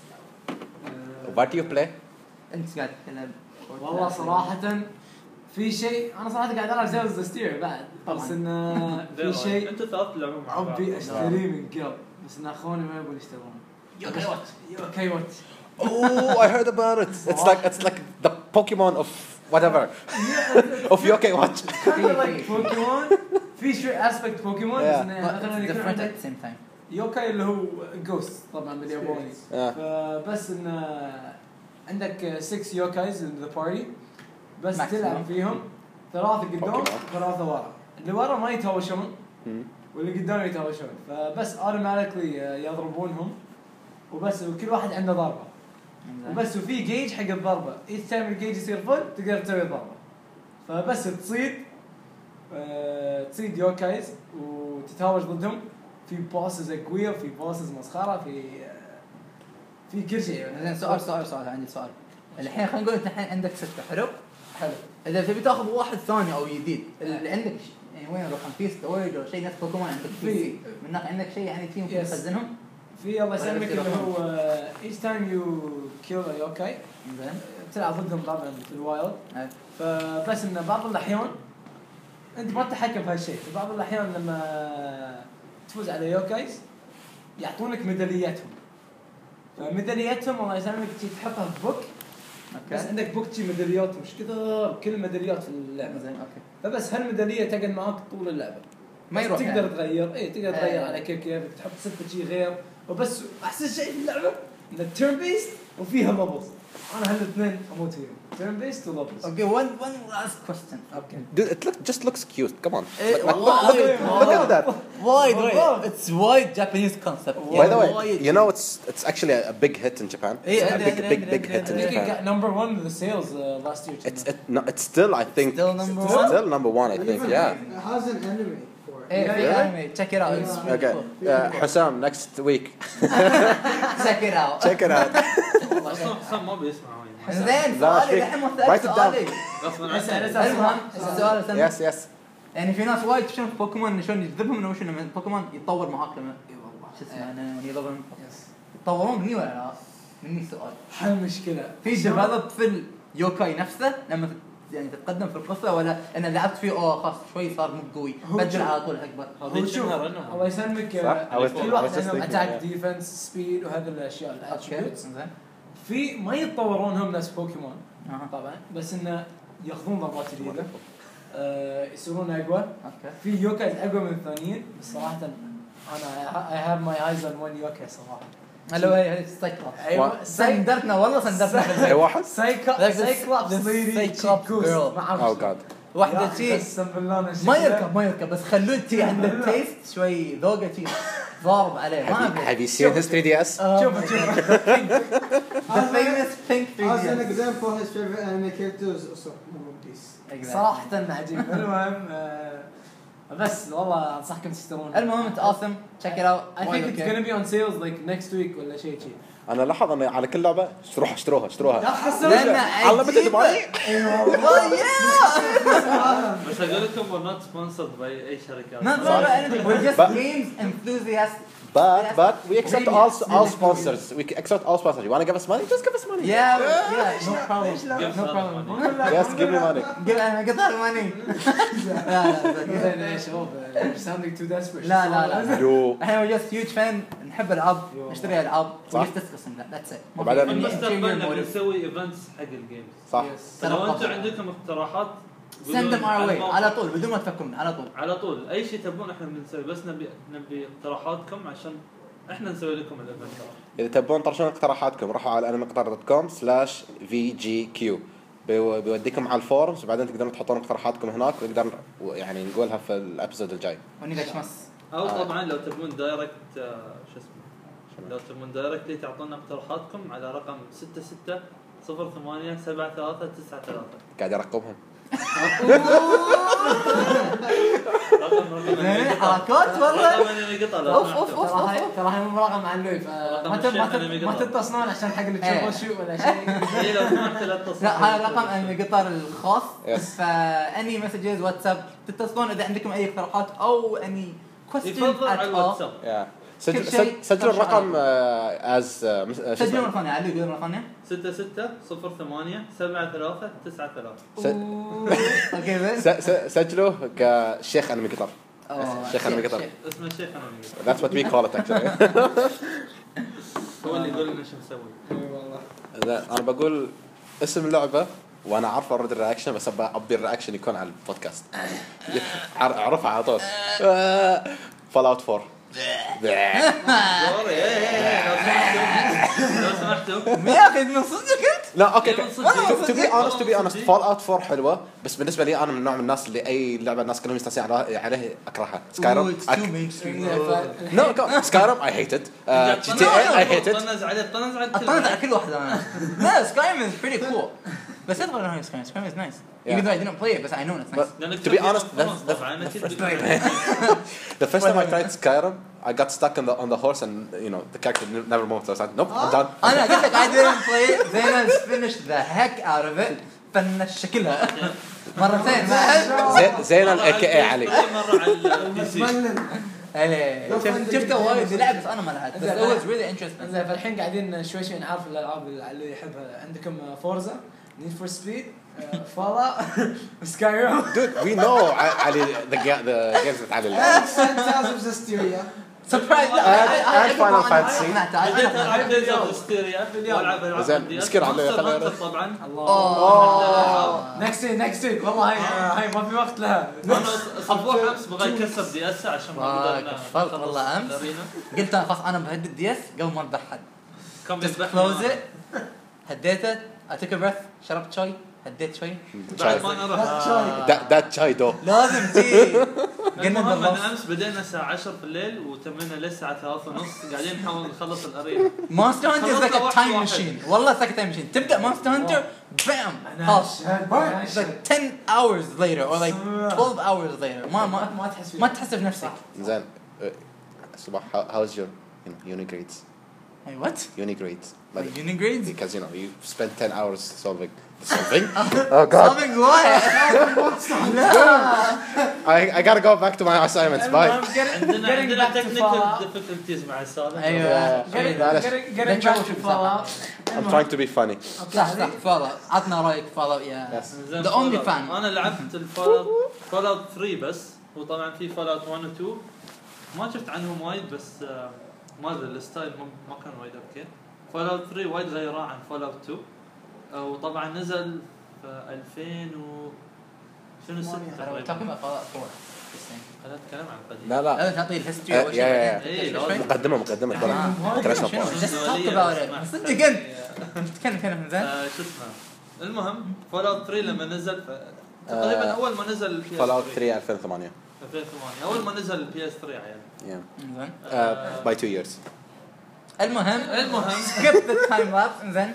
what do you play انت قاعد تتكلم والله صراحة في شيء انا صراحة قاعد العب زي ذا ستير بعد بس طبعاً. انه في شيء انتوا ثلاث تلعبون مع بعض ابي اشتريه من قبل بس ان اخواني ما يبون يشترون يوكي وات اوكي وات oh I heard about it it's like it's like the Pokemon of whatever of Yokai Watch بوكيمون في شوي اسبكت بوكيمون بس انه مثلا يكون different عندك at the same time يوكاي اللي هو جوست طبعا بالياباني آه. فبس انه عندك ستة يوكايز ان ذا بارتي بس Maximum. تلعب فيهم ثلاثة قدام Pokemon. ثلاثة ورا اللي ورا ما يتهاوشون مم. واللي قدام يتهاوشون فبس اوتوماتيكلي يضربونهم وبس وكل واحد عنده ضربة وبس وفي جيج حق الضربة each time الجيج يصير فل تقدر تسوي ضربة فبس تصيد آه، تصيد يوكايز وتتهاوش ضدهم في بوسز قوية وفي بوسز مسخرة في آه، في كل شيء زين سؤال سؤال سؤال عندي سؤال الحين خلينا نقول انت الحين عندك ستة حلو حلو اذا تبي تاخذ واحد ثاني او جديد اللي عندك ش- يعني وين يروحون في ستورج او شيء نفس بوكيمون عندك في في. سي من ناحيه عندك شيء يعني فيهم Yes. تخزنهم في الله يسلمك ولا اللي في هو آه، each time you kill a yokai زين تلعب ضدهم طبعا في الوايلد أي. فبس انه بعض الاحيان انت ما تتحكم في هالشيء. في بعض الاحيان لما تفوز على يوكايز يعطونك ميدالياتهم، فميدالياتهم الله يسلمك تحطها في بوك. بس عندك بوك تجي ميداليات مش كذا، كل ميداليات في اللعبه زين اوكي. فبس هالميداليه تقعد معاك طول اللعبه، ما يروح تقدر يعني. تغير اي تقدر آه. تغير على كيف كيفك، تحط ستة شيء غير. وبس احسن شيء في اللعبه ان التيرن بيست وفيها لبلز. انا هالاثنين اموت فيهم، تيرن بيست ولبلز. Okay, one one last question. اوكي Dude, it look, just looks cute. Come on. Eh, Look, look, wow. look, at, look at that. Wide, Wow. right? It's wide Japanese concept. By the way, Wide. you know it's it's actually a, a big hit in Japan. Yeah, It's a yeah, big yeah, big yeah, big yeah, hit yeah, in I think it Japan. got number one in the sales uh, last year. It's it, no, it's still I think Still number it's one? still number one I think. Even Yeah. It has an anime for it. Hey, Yeah, big yeah. anime. Check it out. It's Yeah. really Okay. cool. Uh, Hussam, next week. Check it out. Check it out. اصلا حسام ما بيسمع وين. زين لا، سؤالي شيء. الحين مو Write it down. سؤالي. غصبا اسأل، عنك. اسأل. المهم السؤال الثاني. Yes, yes. يعني في ناس وايد شنو في بوكيمون شلون يجذبهم انه شنو من بوكيمون يتطور معاك لما اي والله شو اسمه انا يضربون يس. يتطورون مني ولا لا؟ مني السؤال. هالمشكله في ديفلوب في اليوكاي نفسه لما تت- يعني تتقدم في القصه ولا انا لعبت فيه اوه خلاص شوي صار مو قوي هو بدل شو- على طول اكبر. هو شوف الله يسلمك صح. I was- كل I واحد was just عندهم thinking, اتاك yeah. ديفنس سبيد وهذه الاشياء اوكي الاتريبيوتس. زين. في ما يتطورون هم نفس بوكيمون اها طبعا، بس انه ياخذون ضربات جديده آه، يصيرون اقوى. اوكي. في يوكايز اقوى من الثانيين بس صراحه انا اي هاف ماي ايز اون ون يوكاي صراحه. هلو هي هي سايكلوبس. ايوه سندرتنا والله سندرتنا في أي البيت. واحد. سايكا Like this- سايكلوبس this ليدي Cyclops girl. ما اعرف Oh God. واحده شي قسم بالله أنا ما شكلها- يركب ما يركب بس خلوه تي عنده تيست شوي ذوقه تي ضارب عليه ما Have you, ادري. have you seen his three D S? شوف شوف The famous pink As an three D S. example, his favorite anime characters also One Piece. صراحه عجيب. المهم آه، بس والله انصحكم تشترون. المهم انت awesome check it out. I think it's gonna be on sales like next week ولا شيء شيء. أنا لاحظ أن على كل لعبة اشتروها اشتروها اشتروها. لأن Unlimited عجيبة. money. والله يا بس اقول لكم we're not sponsored by اي شركات. not not anything we're just But- games enthusiasts. But Yes. but we accept Really, all yes. all sponsors. We accept all sponsors. You want to give us money? Just give us money. Yeah yeah no problem Give no us problem. money. Yes, give me money. قل انا قطع الماني. لا لا زين يا شباب you're sounding too desperate. لا لا لا. Yo. احنا we're just huge fan نحب العاب يو. نشتري العاب صح. ونستسقس لا that's it. ما في وبعدين- أي بالمستقبل ulterior نبي motive. نسوي ايفنتس حق الجيمز. صح. Yes. فلو ترى انتم عندكم اقتراحات send them our way الموقع. على طول بدون ما تفكرون على طول. على طول اي شيء تبون احنا بنسوي بس نبي نبي اقتراحاتكم عشان احنا نسوي لكم الايفنت. إذا تبون طرشون اقتراحاتكم روحوا على انميقطار دوت كوم سلاش في جي كيو بيوديكم على الفورمز وبعدين تقدرون تحطون اقتراحاتكم هناك ونقدر يعني نقولها في الابيسود الجاي. ونقشمس. او طبعا لو تبون دايركت آه، شو اسمه لو تبون دايركتلي تعطونا اقتراحاتكم على رقم ستة ستة صفر ثمانية سبعة ثلاثة تسعة ثلاثة. قاعد ارقبهم. رقم رقم زين حركات والله. رقم انمي قطع لو اوف اوف اوف ترى هاي اوف. ترى هاي مو مراقب مع اللويف. رقم ما تت- ما الشيخ تت- أنا ما بقطع. تتصلون عشان حق اللي إيه. تشوفون شو ولا شيء. اي لو سمحت لا تتصل. لا هذا رقم انمي قطر الخاص. Yes. فاني مسجز واتساب تتصلون اذا عندكم اي اقتراحات او اني question يفضل على at all. الواتساب. يا سجل كل شيء سجل- سجلوا ترشح الرقم على از سجلوا مرة ثانية علي قول مرة ثانية. ستة ستة صفر ثمانية سبعة ثلاثة تسعة ثلاثة. اوكي زين. سجلوا كشيخ انمي قطر. أوه، شيخ انمي قطر. شيخ. اسمه الشيخ انمي قطع. That's what we call it actually. هو اللي يقول لنا شو نسوي. اي والله. إذا انا بقول اسم اللعبه وانا عارف ارد الرياكشن بس ابى ابي الرياكشن يكون على البودكاست. أعر- اعرفها على طول. فول اوت فور. سوري ايه ايه لو سمحتوا لو سمحتوا يا اخي من صدقك انت. لا اوكي من صدق. تو بي اونست تو بي من اونست صدق. فول اوت فور حلوه بس بالنسبه لي انا من نوع من الناس اللي اي لعبه الناس كلهم يستانسون عليها عليه اكرهها. سكايرم Ooh, it's too mainstream. نو سكايرم اي هيت ات جي تي اي اي هيت ات طنز عليه طنز على اطنز على كل واحده انا. لا سكايم از بريتي كول. بس ادخل انا سكايم سكايم از نايس. Even though I didn't play it but I know it's nice. To be honest, that's the, the, first, the first time I tried Skyrim, I got stuck on the on the horse and you know the character ne- never moved. So I was like, nope, I'm done. انا قلت لك I didn't play it. Zainaz finished the heck out of it. فنش شكلها مرتين ما زي زين ال إيه كي إيه علي. مرة على البي سي. ملل. ايه شفت شفته وايد يلعب بس انا ما لعبت بس it was really interesting. زين فالحين قاعدين شوي شوي نعرف الالعاب اللي يحبها. عندكم فورزا، نيد فور سبيد، فالا سكايرو dude we know ع- علي the ga- the games that علي Tales of Zestiria. سبرايز and Final Fantasy. بديت العب ديز اوف هيستيريا والعب العاب زين، عندي. مسكين على Monster خلينا- Hunter طبعا. الله نكست نكست ويك والله هاي هاي ما في وقت لها. انا اسبوع امس بغى يكسر دي اس عشان ما آه، قدرنا كفلت والله أمس. الأرينا. قلت انا خلاص انا بهدد الدي اس قبل ما اذبح حد. كان just بيذبحني close أنا. it هديته I took a breath شربت شوي هديت شوي بعد ما انا رحت. that that chai though لازم تي قلنا المهم بالنص. ان امس بدينا الساعه عشرة في الليل وتمينا للساعه ثلاثة ونص قاعدين نحاول نخلص الارينا. مونستر هانتر is like a خلصنا time واحد machine والله it's like a time machine تبدا مونستر هانتر بام خلاص it's like ten hours later or like twelve hours later ما ما ما تحس فيه. ما تحس بنفسك. زين uh, صباح how- how's your you know uni grades Hey, what? uni grades My like uni grades? because you know you spent ten hours solving solving oh god Solving what? I I gotta go back to my assignments bye عندنا Getting عندنا back to تكنيكال Fallout. ديفيكولتيز مع السالفه. ايوه Getting معلش. getting getting Let's back go to to Fallout. I'm trying to be funny صح صح فالا عطنا رايك فالا يا Yes. زين The only Fallout. fan. انا لعبت الفال فال اوت ثري بس وطبعا في فال اوت واحد و اثنين ما شفت عنهم وايد بس آه، ما ادري الستايل ما ما كان وايد اوكي. فال اوت ثري وايد غيره عن فال اوت اثنين آه، وطبعا نزل في ألفين و شنو ستة we're talking تقريبا. about Fallout four. خلينا نتكلم عن القديم. لا لا لازم تعطي الهيستوري آه، اول يا- يا- شيء. يا. بعدين إيه، شوي. مقدمة مقدمة آه. طلع كلاشنا شنو؟ فوق Just talk about it. صدق انت تتكلم كلام زين. آه، شو اسمه المهم فال اوت ثري لما نزل ف- تقريبا آه، اول ما نزل البي اس فال اوت ثري ألفين وثمانية ألفين وثمانية اول ما نزل البي اس ثري عيال. yeah زين. uh, by two years المهم المهم skip the time lapse زين.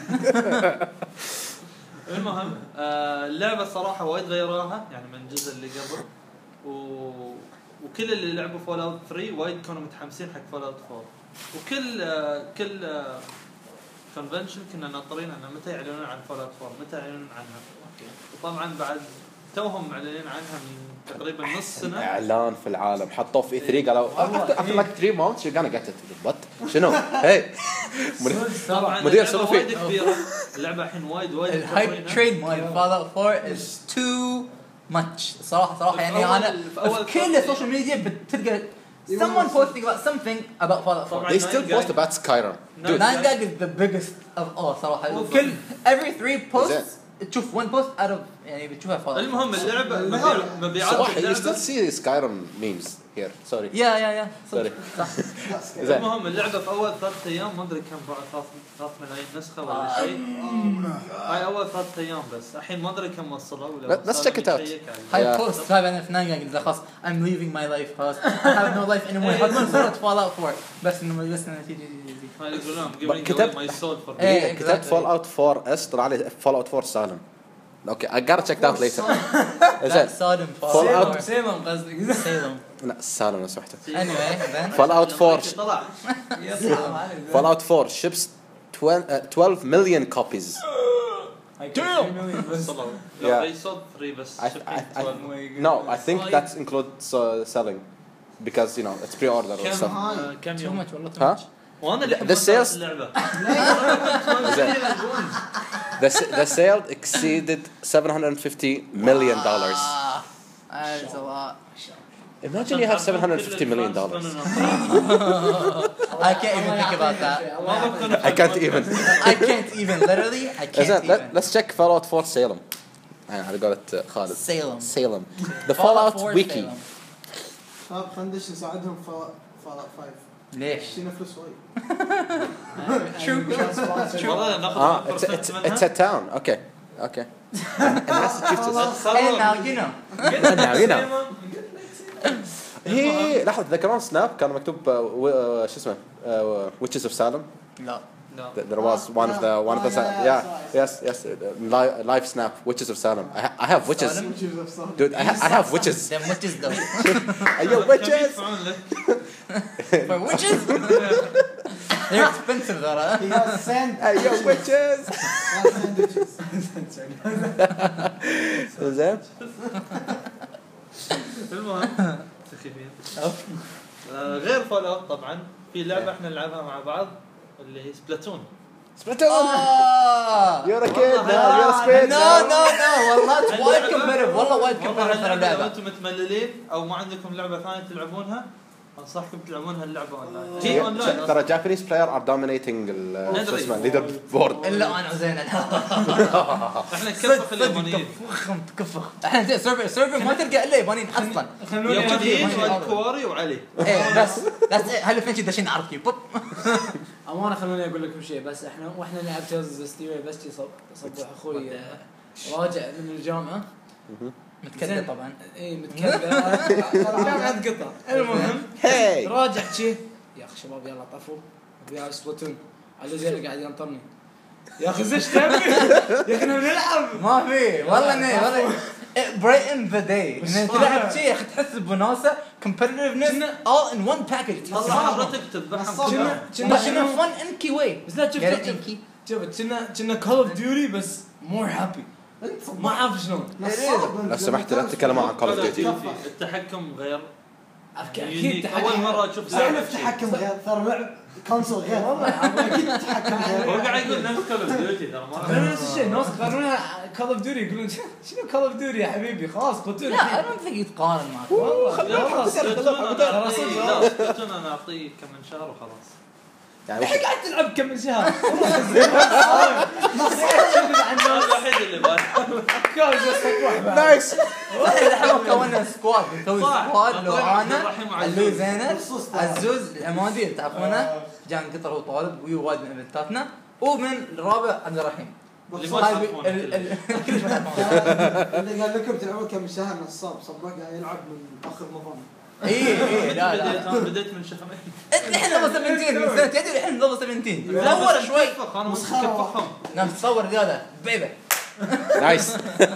المهم آه اللعبه الصراحه وايد غيروها يعني من الجزء اللي قبل و... وكل اللي لعبوا فول اوت ثري وايد كانوا متحمسين حق فول اوت فور وكل آه كل آه كونفنشن كنا ناطرين انه متى يعلنون عن فول اوت فور متى يعلنون عنها. وطبعا بعد توهم معلنين عنها من تقريبا نص سنه. اعلان في العالم حطوه في ثري قالوا after, after like three months you're gonna get it but شنو هي طبعا مدير اللعبة صرفي. وايد كبيره اللعبه الحين وايد وايد الهايب مطورينها. ترين مال Fallout four is too much صراحة صراحة يعني في أول- أنا في أول في كل فترة- السوشيال ميديا بتلقى someone posting about something about Fallout four. طبعاً they still Nine post Gag. about Skyrim dude Nine Gag is the biggest of all صراحة بالضبط. كل every three posts زين. تشوف one post out of يعني بتشوفها Fallout. المهم اللعبه المهم. مبيع- مبيعات صباح you اللعبه still see Skyrim memes here sorry يا يا يا Sorry. صح. زين المهم اللعبه في اول ثلاث ايام ما ادري كم باعت ثلاث ثلاث ملايين نسخه ولا شيء. هاي اول ثلاث ايام بس الحين ما ادري كم وصلوا ولا Let- let's check it out. هاي Yeah. بوست هاي بعدين في Nine Gag إذا خلاص I'm leaving my life خلاص I have no life anymore يحطون صورة Fallout four بس إنه بس إنه تيجي هاي يقولون giving كتبت- away my soul for إيه. كتبت exactly. فول اوت فور اس طلع لي فول اوت فور سالم اوكي I gotta check that later لا زين صادم Fallout. سيلم سيلم قصدك. سيلم لا سالم لو سمحت anyway then فول اوت فور طلع فول اوت فور ships twelve million copies وصلوا Yeah. لا they sold three بس I, I, shipping I, twelve. no I think that includes uh, selling because you know it's pre-order or كم stuff آه، كم too يوم much والله too ها much وانا اللي The حملت sales- اللعبه زين. the, s- the sale exceeded seven hundred fifty million dollars Ah, that's a lot imagine you have seven hundred fifty million dollars I can't even think about that I can't even I can't even literally I can't زين, let, even let's check Fallout four Salem على قولة خالد Salem Salem the Fallout four wiki Salem. شباب خلينا ندش نساعدهم في فال خمسة. ليش؟ شينا فلوس وايد. والله ناخذ ah it's, percent it's, منها. it's a town okay okay in Massachusetts Hey now you know now you know هي لحظة ذكرون سناب كان مكتوب آه، و- آه، شو اسمه آه، Witches of Salem لا No. Th- there was one of the one of the Oh, Sa- yeah, yeah that's yes yes uh, live, live snap Witches of Salem I, ha- I have witches Salem? dude I, ha- I have witches them witches though are you كم witches يدفعون لك؟ for witches they're expensive though He has sand. are you witches He has sandwiches. زين المهم سخيفين. آه، غير فول اوت طبعا في لعبه احنا نلعبها مع بعض اللي هي سبلاتون. سبلاتون آه يور كيد يور سبيد نو نو نو والله وايد كومبيتيتيف والله وايد والله كومبيتيتيف اللعبة لو اللعبة. انتم متمللين او ما عندكم لعبه ثانيه تلعبونها انصحكم تلعبون هاللعبه اونلاين. هي اونلاين ترى جابانيز بلاير ار دومينيتنج شو اسمه ليدر بورد. الا انا وزين احنا نكفخ اليابانيين تكفخهم تكفخ. احنا زين سيرفر سيرفر ما تلقى الا يابانيين اصلا. يابانيين والكواري وعلي. ايه بس بس هل فين داشين نعرف كيف بوب. امانه خلوني اقول لكم شيء بس احنا واحنا نلعب تيلز ستيوي بس صبح اخوي راجع من الجامعه متكدر طبعا. اي متكدر جامعه قطع. المهم هاي راجع شي يا اخي شباب يلا طفوا ويا سبلاتون على زين قاعد ينطرني يا اخي زش تبي يا اخي نلعب ما في والله اني والله بريتن ذا داي ان تلعب شيء يا اخي تحس بوناسه كومبتيتيفنس all in one package. والله حضرتك تذبحهم كنا كنا كنا فن انكي واي بس لا شفت شفت كنا كنا كول اوف ديوتي بس مور هابي ما اعرف شلون. لو سمحت لا تتكلم عن كول اوف ديوتي. التحكم غير اكيد اول مره اشوف سالف تحكم غير ترى لعب كونسول غير والله اكيد تحكم غير. هو قاعد يقول نفس كول اوف ديوتي ترى ما نفس الشيء الناس يقارنونها كول اوف ديوتي يقولون شنو كول اوف ديوتي يا حبيبي خلاص قلت لا انا ما ثقيت يتقارن معك والله خلاص خلاص انا اعطيه كم شهر وخلاص. يعني الحين قاعد تلعب كم شهر هذا الوحيد اللي بالي. كان يصبح نايس. احنا كونا سكواد نسوي صح. سكواد لو عبد انا الرحيم علو وعزوز. زينب خصوص عزوز العمادي تعرفونه جان قطر وطالب ويو وايد من ايفنتاتنا ومن الرابع عبد الرحيم. اللي ما هاي تعرفونه ال- ال- كلش ما تعرفونه. اللي قال لكم تلعبون كم شهر نصاب صباح قاعد يلعب من اخر نظام. اي اي لا بديت لا انا بديت من شهرين. الحين ليفل سبعتاشر من سنه تدري الحين ليفل سبعتاشر دور شوي انا مكفخهم. نعم تصور زياده بيبي. نايس.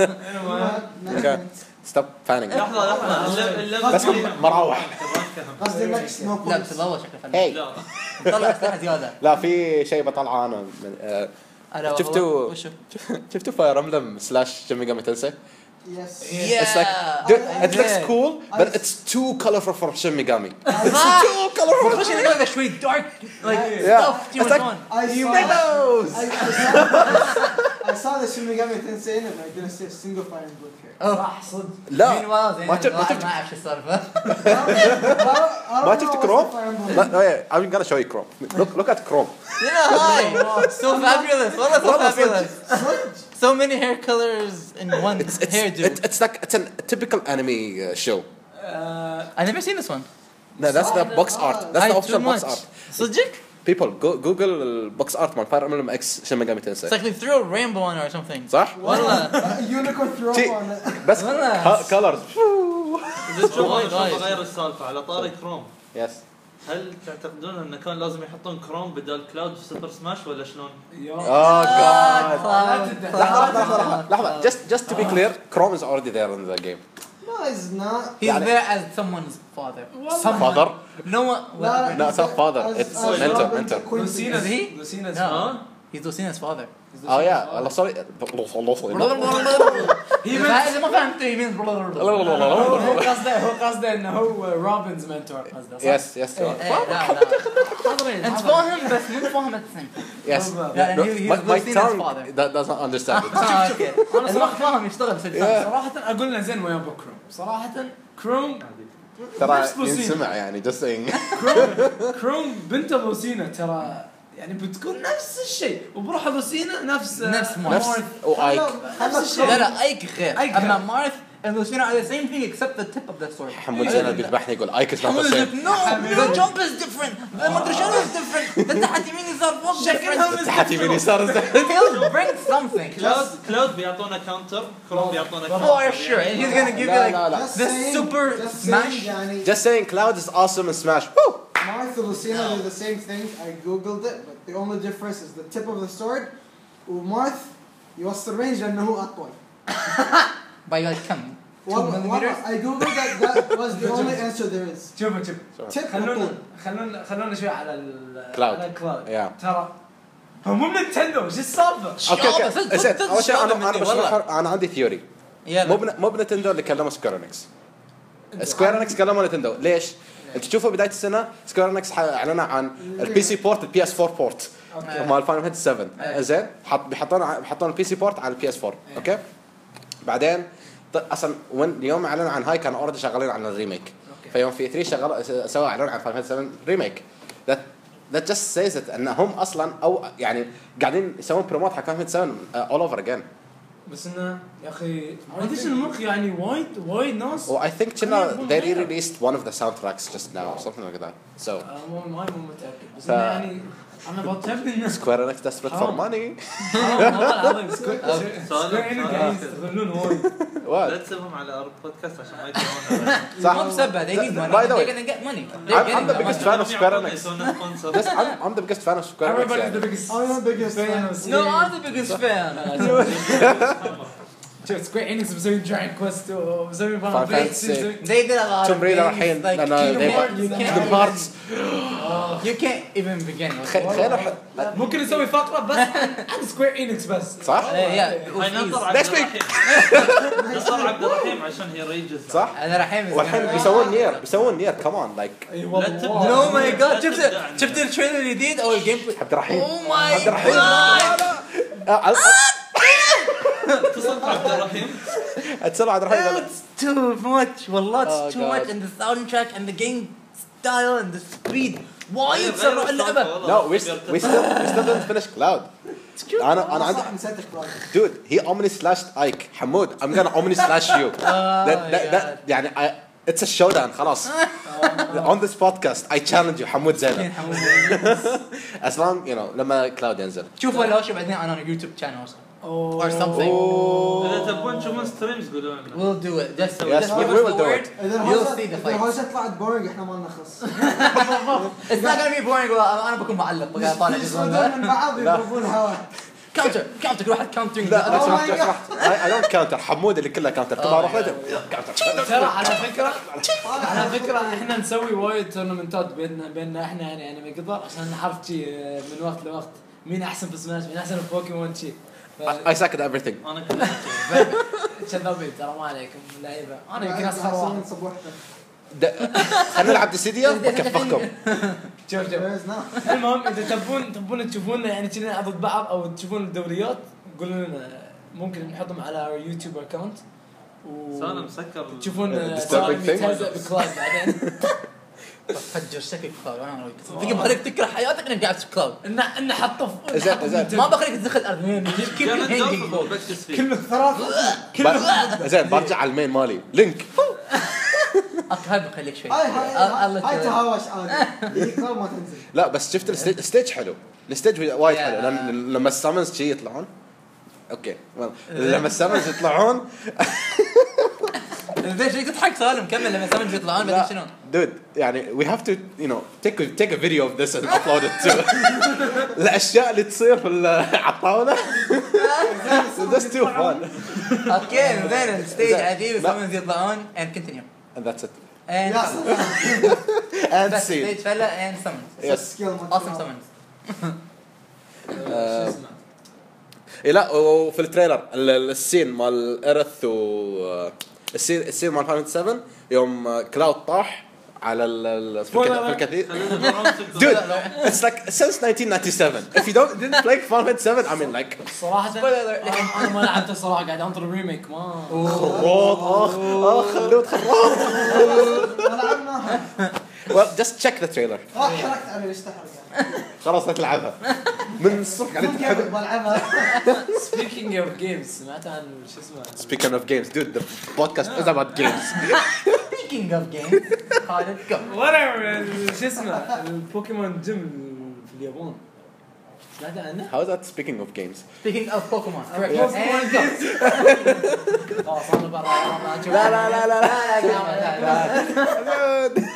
ستوب فانينج. لحظه لحظه اللعبه اللعبه بس مراوح. قصدي نكست نو لا بس والله شكله فن هاي لا طلع اسلحه زياده. لا في شيء بطلعه انا من- آه، ألا وهو- شفتوا وشو؟ شفتوا فاير امبلم سلاش شين ميجامي تنسي. يس It's like dude, it looks cool but it's too colorful for Shin Megami. Too colorful. خش نلعب شوي دارك لايك Yeah. ستاف It's like- I You saw- made those. I, I saw, I saw the Shin Megami Tensei and I didn't see a single Fire Emblem character. صح صدق لا ما شفت- ما شفت- ما اعرف شو السالفه. ما شفت كروم؟ لا no, yeah, I'm gonna show you Chrome. Look look at Chrome. شنو هاي so fabulous والله so والله fabulous so many hair colors in one It's it's hair it, dude. it's like it's a typical anime uh, show. I've never seen this one. No, that's the box art. That's the Aye, official too box much. art. صدق? People go Google box art man Fire Emblem X Shin Megami It's Tensei. like they threw a rainbow on her or something. صح؟ والله Unicorn throw شي- on it. بس والله. colors. اذا تشوف Oh my انا God. بغير السالفه على طاري كروم. Yes. هل تعتقدون انه كان لازم يحطون كروم بدل كلاود في سوبر سماش ولا شلون؟ Oh god. Cloud. لحظة لحظة لحظة لحظة. Just just to be clear, Chrome is already there in the game. No, it's not. He's يعني- there as someone's father. Someone. Father? No one. لا No, it's not father. as- It's as mentor, Robin mentor. the Queen. لوسينا Is he? لوسينا No. He's Lucina's father. Oh yeah. والله sorry. إذا ما فهمت he means هو قصده هو قصده انه هو روبنز منتور قصده صح؟ Yes yes. إيه، لا لا انت فاهم بس مو فاهم السم. Yes. لا، No, he- he's my, my Lucina's tongue father. that does not understand it. اه اوكي. اللي ما فاهم يشتغل في اللسان. صراحة اقول له زين ويا ابو كروم صراحة كروم ترى نفس لوسينا. ينسمع يعني just saying. كروم كروم بنت لوسينا ترى يعني بتكون نفس الشيء وبروح لوسينا نفس نفس نفس مارث. وايك. نفس الشيء لا لا ايك غير. أيك اما غير. مارث and Lucina are the same thing except the tip of the sword. حمود زين بيذبحني يقول ايك is not the حمود same. no the jump is different the ما ادري شنو is different the تحت يمين يسار فوق different. تحت يمين يسار He'll bring something. كلاود كلاود بيعطونا كاونتر كروم بيعطونا For كاونتر. sure and he's gonna give you لا like لا لا. Just the saying- super just smash. saying يعني Just saying Cloud is awesome in Smash. Woo! Marth and Lucina are the same thing. I googled it, but the only difference is the tip of the sword. ومارث يوصل رينج لانه هو اطول. by like كم two والله millimeters. والله I googled that. That was the only answer there is. شوفوا شوف Tip خلونا أطول. خلونا خلونا شوي على ال كلاود. على الكلاود Yeah. ترى هو مو نينتندو ايش السالفه؟ اوكي شابة، اوكي صدق- زين صدق اول شيء شابة انا انا مني، بشرح والله. انا عندي ثيوري. يلا. مو بن- مو بنتندو اللي كلموا سكوير انكس. سكوير انكس كلموا نتندو ليش؟ انت تشوفوا بدايه السنه سكوير انكس اعلنوا عن البي سي بورت البي اس فور بورت مال فاينل فانتسي سبعة زين حط بيحطون بيحطون البي سي بورت على البي اس فور اوكي بعدين اصلا وين اليوم اعلنوا عن هاي كانوا اوريدي شغالين على الريميك فيوم في ثلاثة شغال سووا اعلان عن فاينل فانتسي سبعة ريميك that that just says it انهم اصلا او يعني قاعدين يسوون بروموت حق فاينل فانتسي سبعة all over again بس انه يا اخي ما ادري شنو المخ يعني وايد وايد ناس well I think كنا they released one of the soundtracks just now or something like that so مو مو متاكد بس يعني انا بتشبه الناس Square Enix desperate for money والله العظيم سكوير انك قاعدين يستغلون وايد لا تسبهم على ارض بودكاست عشان ما يتابعون صح ما بسبه they need money By the way, they're gonna get money I'm the biggest fan of Square Enix Yes, I'm, I'm the biggest fan of Square Enix everybody's the يعني. biggest I'm the biggest fan. no I'm the biggest fan شوف سكوير انكس مسوي جاين كويست ومسوي Final Fantasy. they did a lot Tomb of Raider things الحين like لأن they Kingdom got Hearts, you Kingdom can't Hearts you can't even begin خير ممكن نسوي فقره بس عن سكوير انكس بس صح؟ هاي ننطر عبد Next week. الرحيم ننطر عبد الرحيم عشان هي ريجز صح؟ انا رحيم والحين بيسوون نير بيسوون نير كمان لايك اي لا تبدأ. نو ماي لا جاد شفت تبدأ. شفت التريلر الجديد او الجيم بلاي عبد الرحيم او ماي عبد الرحيم جاد اتصلت عبد الرحيم اتصل عبد الرحيم it's too much والله Oh, it's too God. much and the soundtrack and the game style and the speed وايد غير سرعوا اللعبه No we still we still we still didn't finish Cloud انا انا عندي صح نسيت كلاود. dude he omni slashed Ike حمود I'm gonna omni slash you that, that, that, يعني I, it's a showdown خلاص on this podcast I challenge you حمود زينب as long you know لما Cloud ينزل شوفوا لو شو بعدين انا on يوتيوب channel or something اذا تبون تشوفون ستريمز قولوا لنا we'll do it just Yes, just we- give we us will the do word it. اذا you'll الهوشه see the اذا fight الهوشه طلعت بورينج احنا ما نخلص. it's not gonna be boring انا بكون معلق بقى طالع جزء يصعدون من بعض يضربون هواء. counter counter كل واحد countering لا لو Oh my سمحت لو God. سمحت I, I don't counter حمود اللي كله counter كل ما اروح له counter ترى على فكره على فكره احنا نسوي وايد تورنمنتات بيننا بيننا احنا يعني يعني ما يقدر عشان نعرف شي من وقت لوقت مين احسن في سماش مين احسن في بوكيمون شي I suck at everything انا كنت كذابين ترى ما عليكم لعيبه انا يمكن اصغر يحسون واحد صبوحته. د- خلينا نلعب ديسيديا وكفخكم شوف شوف فايزنا. المهم اذا تبون تبون تشوفونا يعني كنا ضد بعض او تشوفون الدوريات قولوا لنا ممكن نحطهم على يوتيوب اكونت انا مسكر تشوفون Disturbing thing. يتهزأ بكلاود بعدين فجر شكل كلاود انا تبي بخليك تكره حياتك انك قاعد في كلاود ان ان حطه في زين، نحطه زين. في ما بخليك تدخل الارض كل كان هينجينج الدوب بكتس فيه كلمه ثلاثه ب- زين برجع على المين مالي لينك هاي بخليك شوي هاي هاي الله هاي يسلمك. تهاوش عادي. يقدر ما تنزل. لا بس شفت الستيج الستيج حلو الستيج وايد Yeah. حلو لأن لما السامنز شي يطلعون اوكي لما السامنز يطلعون ليش ليش تضحك سالم كمل لما سامج يطلعون بعدين شنو دود يعني we have to you know take a, take a video of this and upload it to الاشياء اللي تصير في ال- على الطاوله that's too fun اوكي زين الستيج زين. عجيب لا. سامج يطلعون and continue and that's it and يا and بس scene ستيج فلا and summons yes سكيل ما awesome summons شو اسمه إيه لا وفي التريلر ال- السين مال إيرث و السين السين مال فاينل سبعة يوم كلاود طاح على ال ال- في الك- في الكثير dude it's like since nineteen ninety-seven if you don't didn't play Final seven I mean like صراحه انا أنا ما لعبته صراحه قاعد انطر الريميك ما خراط اخ اخ خلود خراط لعبناها. well just check the trailer اه حركت عليه ليش تحرق يعني. خلاص لا تلعبها من الصبح قاعدين كيف تحب بلعبها. سبيكينج اوف جيمز سمعت عن شو اسمه speaking of games dude the podcast is about games speaking of games خالد go ولا شو اسمه البوكيمون جيم في اليابان سمعت عنه؟ how is that speaking of games speaking of Pokemon correct Yes. and go اه صار برا لا لا لا لا لا dude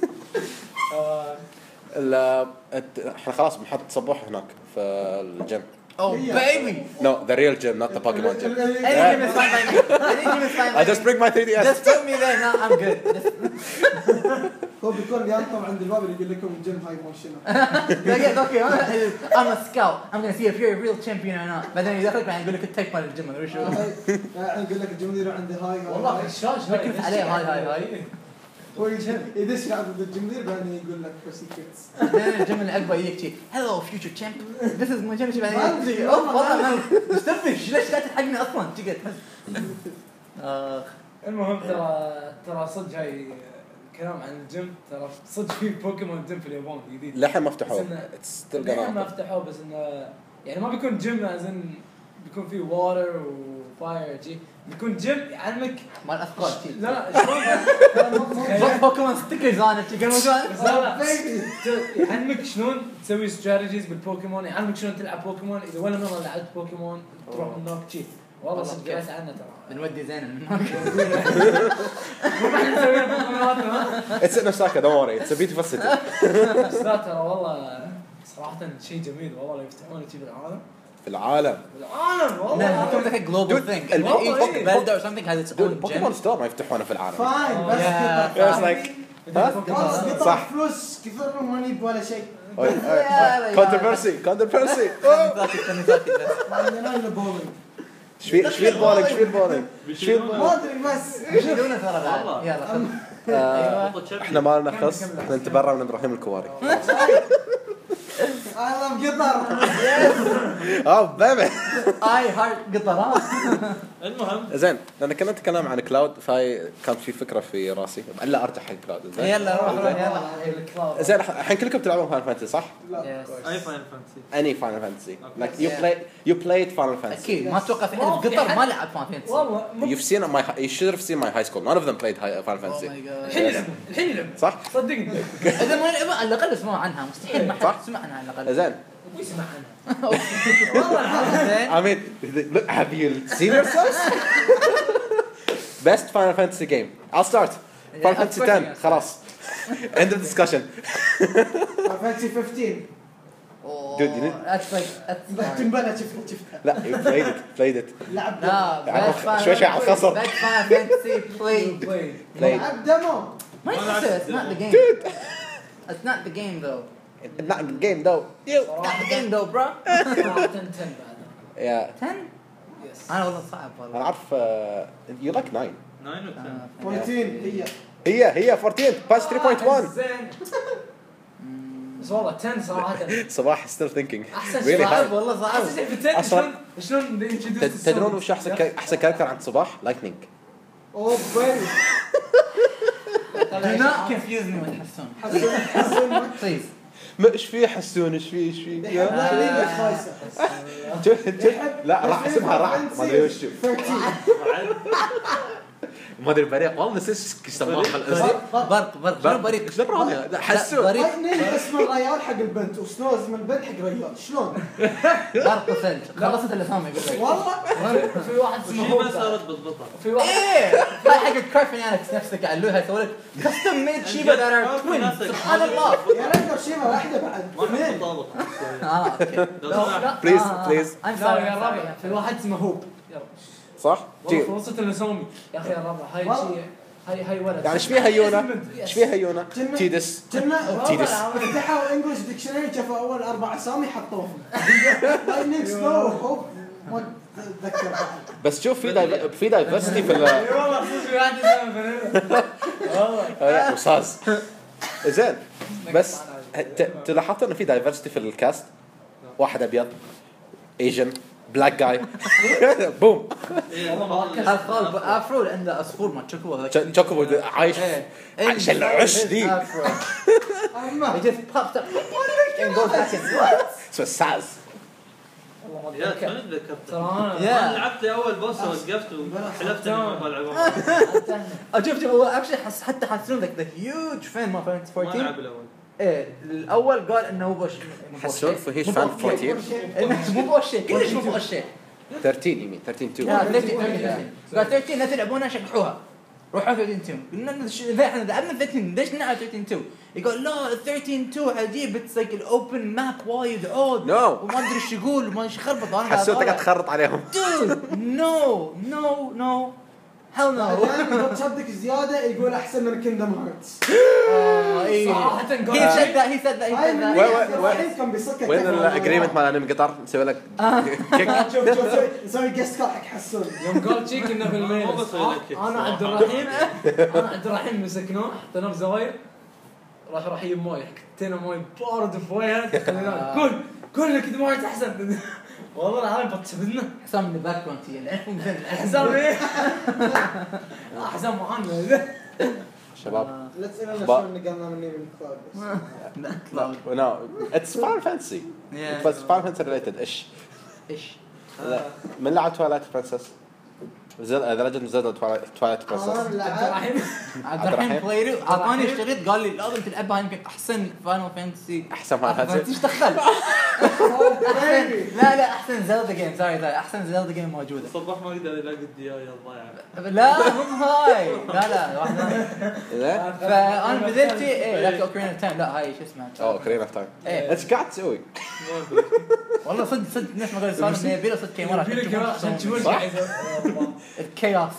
ال الت- احنا خلاص بنحط صبوح هناك في الجيم oh baby no the real gym not the Pokemon gym any gym is fine by me any gym is fine I by just me bring my three D S just put me there no I'm good Just- هو بيكون ينطم عند الباب اللي يقول لكم الجيم هاي مو شنو. okay okay I'm a scout I'm gonna see if you're a real champion or not بعدين يدخلك بعدين يقول لك التايب مال الجيم ولا شو هاي- يعني يقول لك الجيم يروح عند هاي هاي والله هاي. الشاش بكرف عليه هاي هاي هاي هو يدش ضد الجمهور بعدين يقول لك بس كيتس الجيم اللي عقبه يجيك شي هلو فيوتشر تشامب ذيس از ماي جيم شي ما أدري، اوف والله والله ما مستفش ليش لا تلحقني اصلا تقعد اخ المهم ترى ترى صدق هاي الكلام عن الجيم ترى صدق في بوكيمون جيم في اليابان جديد لحين ما فتحوه بس إنه- It's still لحين ما gonna فتحوه بس انه يعني ما بيكون جيم ازن بيكون فيه واتر وفاير جي بيكون جيم يعلمك مال اثقال شي لا لا شلون ترى مو متخيل. بوكيمون ستيكرز انا شي كانوا بس لا لا ت- يعلمك شلون تسوي استراتيجيز بالبوكيمون يعلمك شلون تلعب بوكيمون اذا ولا مره لعبت بوكيمون تروح من هناك شي والله صدق قريت عنه ترى بنودي زين من هناك مو راح نسوي بوكيمونات ها It's in Osaka don't worry it's a beautiful city بس لا ترى والله صراحه شيء جميل والله لو يفتحونه شي بالعالم في العالم بالعالم No, والله it becomes like a global Dude, thing. and Each Pokemon- Zelda or something has its dude own Pokemon gym. Store ما يفتحونه في العالم فاين بس Yeah. قطع. It's like ها خلاص قطع صح. فلوس كثر ما نجيب ولا شيء controversy controversy ثاني ثاني ما عندنا الا بولينج شوي شوي البولينج شوي البولينج شوي ما البولينج ادري بس بيشيلونه ترى بعد. والله. يلا خذ. آه، ايوه احنا ما لنا خص احنا نتبرع من ابراهيم الكواري انا قطر اه بيبي اي هارت قطرات. المهم زين لان كنا نتكلم عن كلاود فهي كان في فكره في راسي الا ارجع حق كلاود زين يلا روح روح يلا. يلا زين الحين كلكم تلعبون فاينل فانتسي صح؟ Yes. اي فاين فانتسي اني فاينل فانتسي Okay. like you Yeah. play you played فاينل فانتسي اكيد ما اتوقع في حد في قطر ما لعب فان فانتسي. والله مو- you've seen my you should have seen my high school none of them played high- Final Oh Fantasy my God. الحين يلعب الحين يلعب صح؟ صدقني اذا ما لعبوا على الاقل اسمعوا عنها مستحيل ما صح. حد سمع عنها على الاقل. زين ابوي يسمع عنها زين. I mean look have you seen yourselves best Final Fantasy game I'll start Yeah, Final of Fantasy course ten you're gonna خلاص end of discussion فانتسي خمستاشر Oh, Dude, you need- that's like that's تنبلى شفتها شفتها لا you played it played it لعب لا يعني best Final شوي شوي على الخصم. best Final Fantasy played. played لعب دمو ما يحسن it's not the game. It's not the game though. not the game though you Not the game though bro. صراحة تن بعد yeah ten. يس انا والله صعب انا والله. عارف uh, you like nine ناين و عشرة. آه، أربعتاشر هي هي هي أربعتاشر باس ثلاثة فاصلة واحد زين بس والله عشرة صراحة صباح still thinking احسن really شيء high صعب والله صعب. احسن شيء في عشرة أصلاً- شلون شلون they introduced تد- تدرون the وش احسن songs. كا- احسن كاركتر عند صباح لايتنينج اوه بيبي Do not confuse me with حسون. حسن حسن Please. ما ايش فيه حسون ايش فيه ايش فيه يحب يا- لعبة خايسة شوف- شوف. يحب لا راح اسمها راح ما ادري وش ثلاثة عشر ما ادري بريق والله نسيت ايش يسموها بالاسم برق برق شنو بريق؟ ايش دبروني لا، حسون بريق لايتنينج اسم الريال حق البنت وسنو اسم البنت حق الريال شلون؟ برق وثلج خلصت الاسامي يقول لك. والله في واحد اسمه وشي ما هوب صارت بالضبط في واحد ايه هاي حق كارفينانكس نفسك علوها يسوي لك كاستم ميد شيبا ذات ار توينز سبحان الله. يا ريت لو شيبه واحده بعد ما في اثنين تطابق اه اوكي. لو سمحت بليز آه. بليز I'm لا sorry يا I'm الربع sorry. في واحد اسمه هوب يلا صح؟ والله جي. خلصت الاسامي يا اخي يا الربع هاي والله. شيء هاي هاي ولد يعني ايش فيها يونا؟ اسم- ايش فيها يونا؟ كنا- تيدس كنا تيدس. فتحوا انجلش ديكشنري شافوا اول اربع اسامي حطوهم لايتنينج سنو هوب ما اتذكر بعد بس شوف في دايف- في دايفرستي في ال اي والله صدق في واحد اسمه فانيلا والله وصاز زين بس ت- تلاحظت انه في دايفرستي في الكاست واحد ابيض ايجن بلاك جاي بوم اطفال افرو عنده عصفور ما تشوفه هذاك. تشوكوبو عايش ايه. عايش العش دي Afro. اما He just pops up and goes back in. What? اسمه ساز والله ما يا اتذكر شلون تذكرت؟ ترى انا يا. انا لعبت لي اول بوس ووقفت وحلفت اني ما بلعبها شوف شوف هو اكشلي حس حتى حسون ذاك ذا هيوج فان ما فانت ما أربعتاشر. لعب الاول ايه الاول قال انه هو بوش مو حسون بوشي. فهيش مو فان بوشي. أربعتاشر إنه مو بوشي كلش مو بوشي. ثلاثة عشر يمين ثلاثة عشر لا تو ثلاثة عشر قال ثلاثة عشر لا تلعبونها شقحوها روحوا ثلاثة عشر تو قلنا ش- اذا احنا لعبنا ثلاثة عشر ليش نلعب ثلاثة عشر تو يقول لا ثلاثة عشر تو عجيب اتس لايك الاوبن ماب وايد عود No. وما ادري ايش يقول وما ايش يخربط انا حسون تقعد تخرط عليهم دود نو نو نو hell no. بعدين إذا تصدق زيادة يقول أحسن من كيندم هارتس. آه إيه. صراحة he said that he said that he هاي said من that. الحين كان بيصكك. وين الاجريمنت مال انمي قطر نسوي لك كيك شوف شوف شوف نسوي جست كار حق حسون. يوم قال شيك انه في الميل ما بسوي لك كيك انا صراحة. عبد الرحيم انا عبد الرحيم مسكناه حطيناه بزوايا راح راح يجيب مويه حطينا مويه بارد في وجهه خلينا كل كل لك مويه احسن والله العظيم بتسبنا حسام من الباك جراوند تي العفو مثل حسام ايه حسام معانا شباب لا تسألنا با- شلون نقلنا مني من كلاود بس. no it's Final Fantasy Yeah. بس Final Fantasy related ايش ايش من لعب تواليت برنسس زل ذا ليجند زلدا تواليت برنسس أنا عبد لعبت الرحيم عبد الرحيم بلايرو اعطاني اشتريت قال لي لازم تلعبها يمكن احسن فاينل فانتسي احسن Final Fantasy ايش دخل احسن لا لا احسن زلدا جيم سوري سوري احسن زلدا جيم موجوده الصباح ما يقدر يلاقي الديايه الضايعه. لا مو هاي لا لا واحده زين فانا بذلتي ايه لك اوكرين اوف تايم لا هاي شو اسمها اوه كريم اوف تايم ايه ايش قاعد تسوي؟ ما ادري. والله صدق صدق الناس ما قالوا صار من يبي له صدق كاميرا في لك عشان تشوفون صح؟ الكياس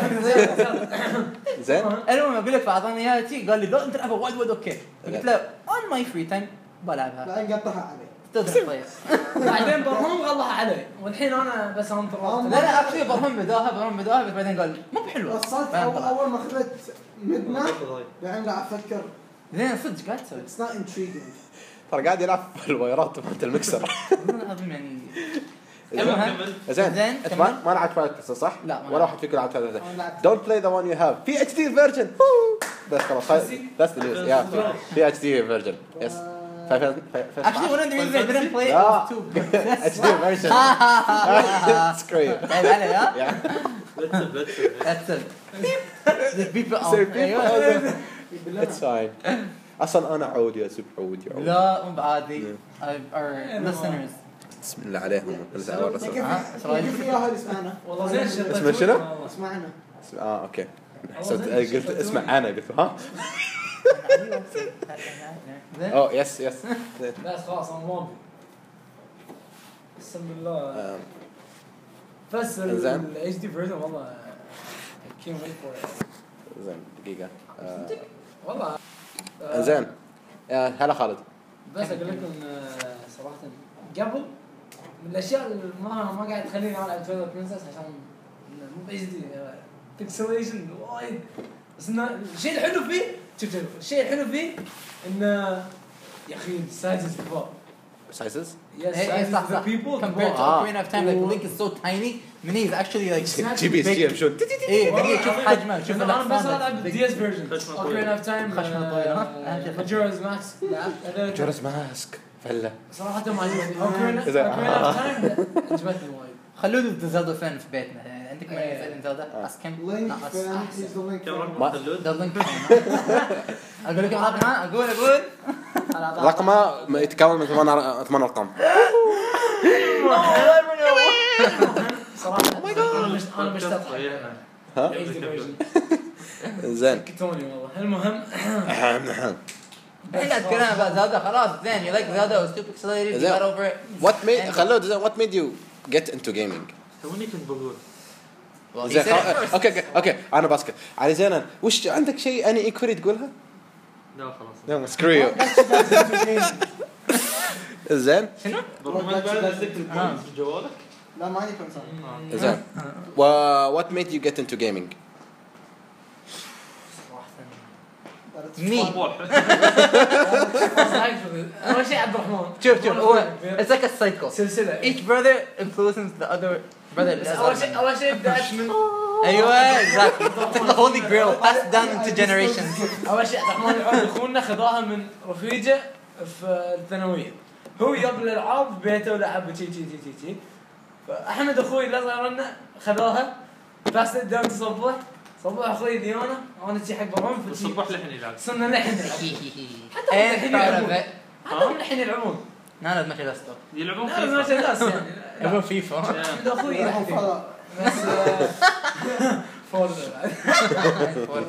زين المهم اقول لك فاعطاني اياها تي قال لي لا انت تلعبها وايد وايد اوكي قلت له اون ماي فري تايم بلعبها بعدين قطعها عليه. تدري طيب بعدين برهم غلها علي والحين انا بس انطر لا لا اكشلي برهم بداها برهم بداها بس بعدين قال مو بحلوه وصلت بعدين أول طلع. أول ما خذت مدنا أعتقد هاي. بعدين قاعد أفكر زين صدق قاعد تسوي it's not intriguing. ترى قاعد يلعب في الوايرات مالت المكسر انا اظن يعني المهم زين زين، انت كمل. ما ما لعبت تواليت برنسس صح؟ لا، ما ولا لعبت. واحد فيكم لعب تواليت أنا لعبت. دونت بلاي ذا وان يو هاف في اتش دي فيرجن بس خلاص ذاتس ذا نيوز يا في اتش دي فيرجن يس actually one of the reasons I didn't play it لا. was too اتش دي فيرجن سكريم طيب علي ها بتسب بتسب. that's it the people Say out people. أيوة. اتس فاين اصلا انا عود يا سب عود يا عود لا مو بعادي our listeners بسم الله عليهم نزع الرسول كيف ها؟ كيف ياها اللي اسمعنا؟ والله زين شطيت اسمه شنو؟ والله. اسمعنا. اه اوكي حسبت قلت اسمع انا قلت ها زين اوه يس يس لا خلاص انا ما ابي بسم الله آم، بس زين. الاتش دي فيرجن والله كين ويت فور زين دقيقة آه، والله آه، زين آه، هلا خالد بس اقول لكم آه، صراحه قبل من الاشياء اللي ما ما قاعد تخليني العب تويلر برنسس عشان مو اتش دي بيكسليشن وايد بس انه الشيء الحلو فيه شوف شوف الشيء الحلو فيه انه يا اخي السايزز كبار سايزز يس Hey, hey, صح صح. Compared to Ah. Ocarina of Time, like Link is so tiny. Mini is actually like جي بي اس جي يمشون ايه دقيقة شوف حجمه شوف انا الأحصان بس العب الدي اس فيرجن خشمة اوكرين طويلة. اوف تايم خشمة طويلة، ها؟ أهم شيء خشمة. ماجورز ماكس لعبت جورس ماسك فله صراحه ما عجبني اوكرين إذا- اوف تايم عجبتني وايد خلود زلدا فان في بيتنا يعني عندك ما إيه. يسألين زلدا اسكن لينك ناقص فان أحسن. هيز ذا لينك كم رقم ما- خلود؟ ده لينك اقول لكم رقم ها اقول اقول رقمه يتكون من ثمان ثمان ارقام صراحه انا مش انا مشتاق ضيعنا. ها زين كتوني والله المهم احنا تكلمنا بقى زلدا خلاص زين you like Zelda was too pixelated you زين. got over it وات ميد خلود زين وات ميد يو جيت انتو جيمنج توني كنت بقول Well, he زين said it خلاص- first. اوكي اوكي اوكي انا بسكت علي زين وش عندك شيء اني ايكوري تقولها؟ لا خلاص. يلا سكرو يو زين والله ما بعد ذكر البوينتس في جوالك. لا ما يكون صح. زين وات ميد يو جيت انتو جيمنج؟ مي طموح. اول شيء عبد الرحمن شوف شوف هو it's like a cycle سلسله each brother influences the other brother بس اول شيء اول شيء بدات من ايوه exactly it's like the holy grail passed down into generations اول شيء عبد الرحمن العود اخونا خذاها من رفيجه في الثانويه هو جاب الالعاب بيته ولعب شي شي شي شي فاحمد اخوي اللي صار لنا خذاها بس دام تصبح صبح اخوي ديانا وانا شي حق برام في الصبح لحن يلعب. صرنا نلحن حتى and الحين proud of يلعبون it حتى هم الحين يلعبون none of my last stuff يلعبون لا ما فيفا. ناس يعني يبغى فيفا احمد اخوي يلعب فيه. فلا. بس فورزا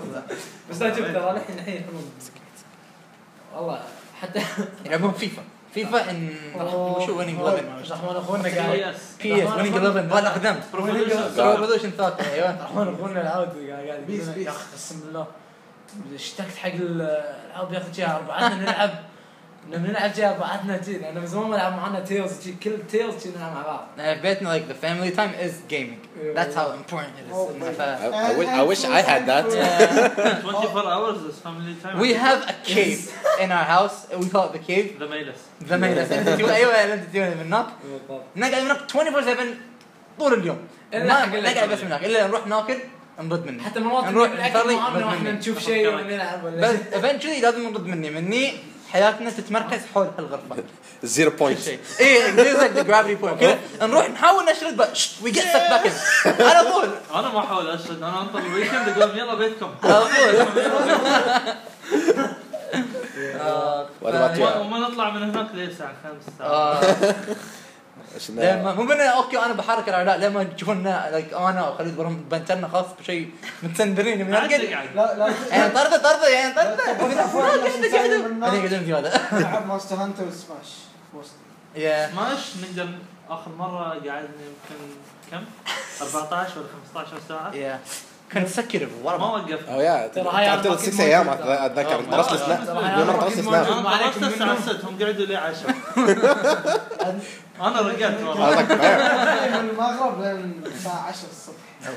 بس لا شوف ترى الحين الحين يلعبون والله حتى يلعبون فيفا فيفا ان وشو ويننج إحداشر رحمن اخونا بي قاعد اس بي اس ويننج إحداشر بالله قدام ريفولوشن ثلاثة ايوه رحمن اخونا العود قاعد بيس يقول بيس. يا اخي قسم بالله اشتقت حق الالعاب يا اخي جاي اربعتنا نلعب نلعب جاي اربعتنا جي انا من زمان ما العب معنا تيلز جي كل تيلز جي نلعب مع بعض بيتنا like the family time is gaming that's how important it Oh is my ف- I, I, wish, I wish I had that. twenty-four hours is family time. we have a cave in our house we call it the cave the mailers. the main ايوه انت تجون من هناك نقعد هناك twenty-four seven طول اليوم إلا ما حق اللي نقعد بس من هناك الا نروح ناكل نرد مني حتى مرات نروح نروح نصلي معنا نرد واحنا مني نشوف شيء ولا نلعب ولا بس شيء eventually لازم نرد مني مني حياتنا تتمركز حول هالغرفه Zero كل points. شيء ايه there's like the gravity point كذا نروح نحاول نشرد بس we get sucked back in على طول انا ما احاول اشرد انا انطر الويكند اقول يلا بيتكم. على طول What about you? وما وما نطلع من هناك ليه الساعه خمسة ساعه. آه. إيش لما مو بنا اوكي انا بحرك الاعداء لما تشوفنا لايك انا وخالد برهم بنتنا خاص بشيء متسندرين من عاد القد تقعد. لا لا يعني طرده طرده يعني طرده انا انا قاعدين في هذا العب ماستر هانتر وسماش يا سماش نقدر اخر مره قعدنا يمكن كم؟ أربعة عشر ولا خمسة عشر ساعه. يا كونسكتيف ما ورا وقفت. Oh yeah. ترى هاي قعدت أنا ست أكيد أيام موجود. أتذكر. آه، درست ما- السناب. ترى هاي يوم أنا درست أكيد السناب. موجود. انا عليكم طلعت الساعه منهم. ستة هم قعدوا لي عشرة. انا رجعت I ورا. was like, "Fair." من المغرب لين الساعة عشرة الصبح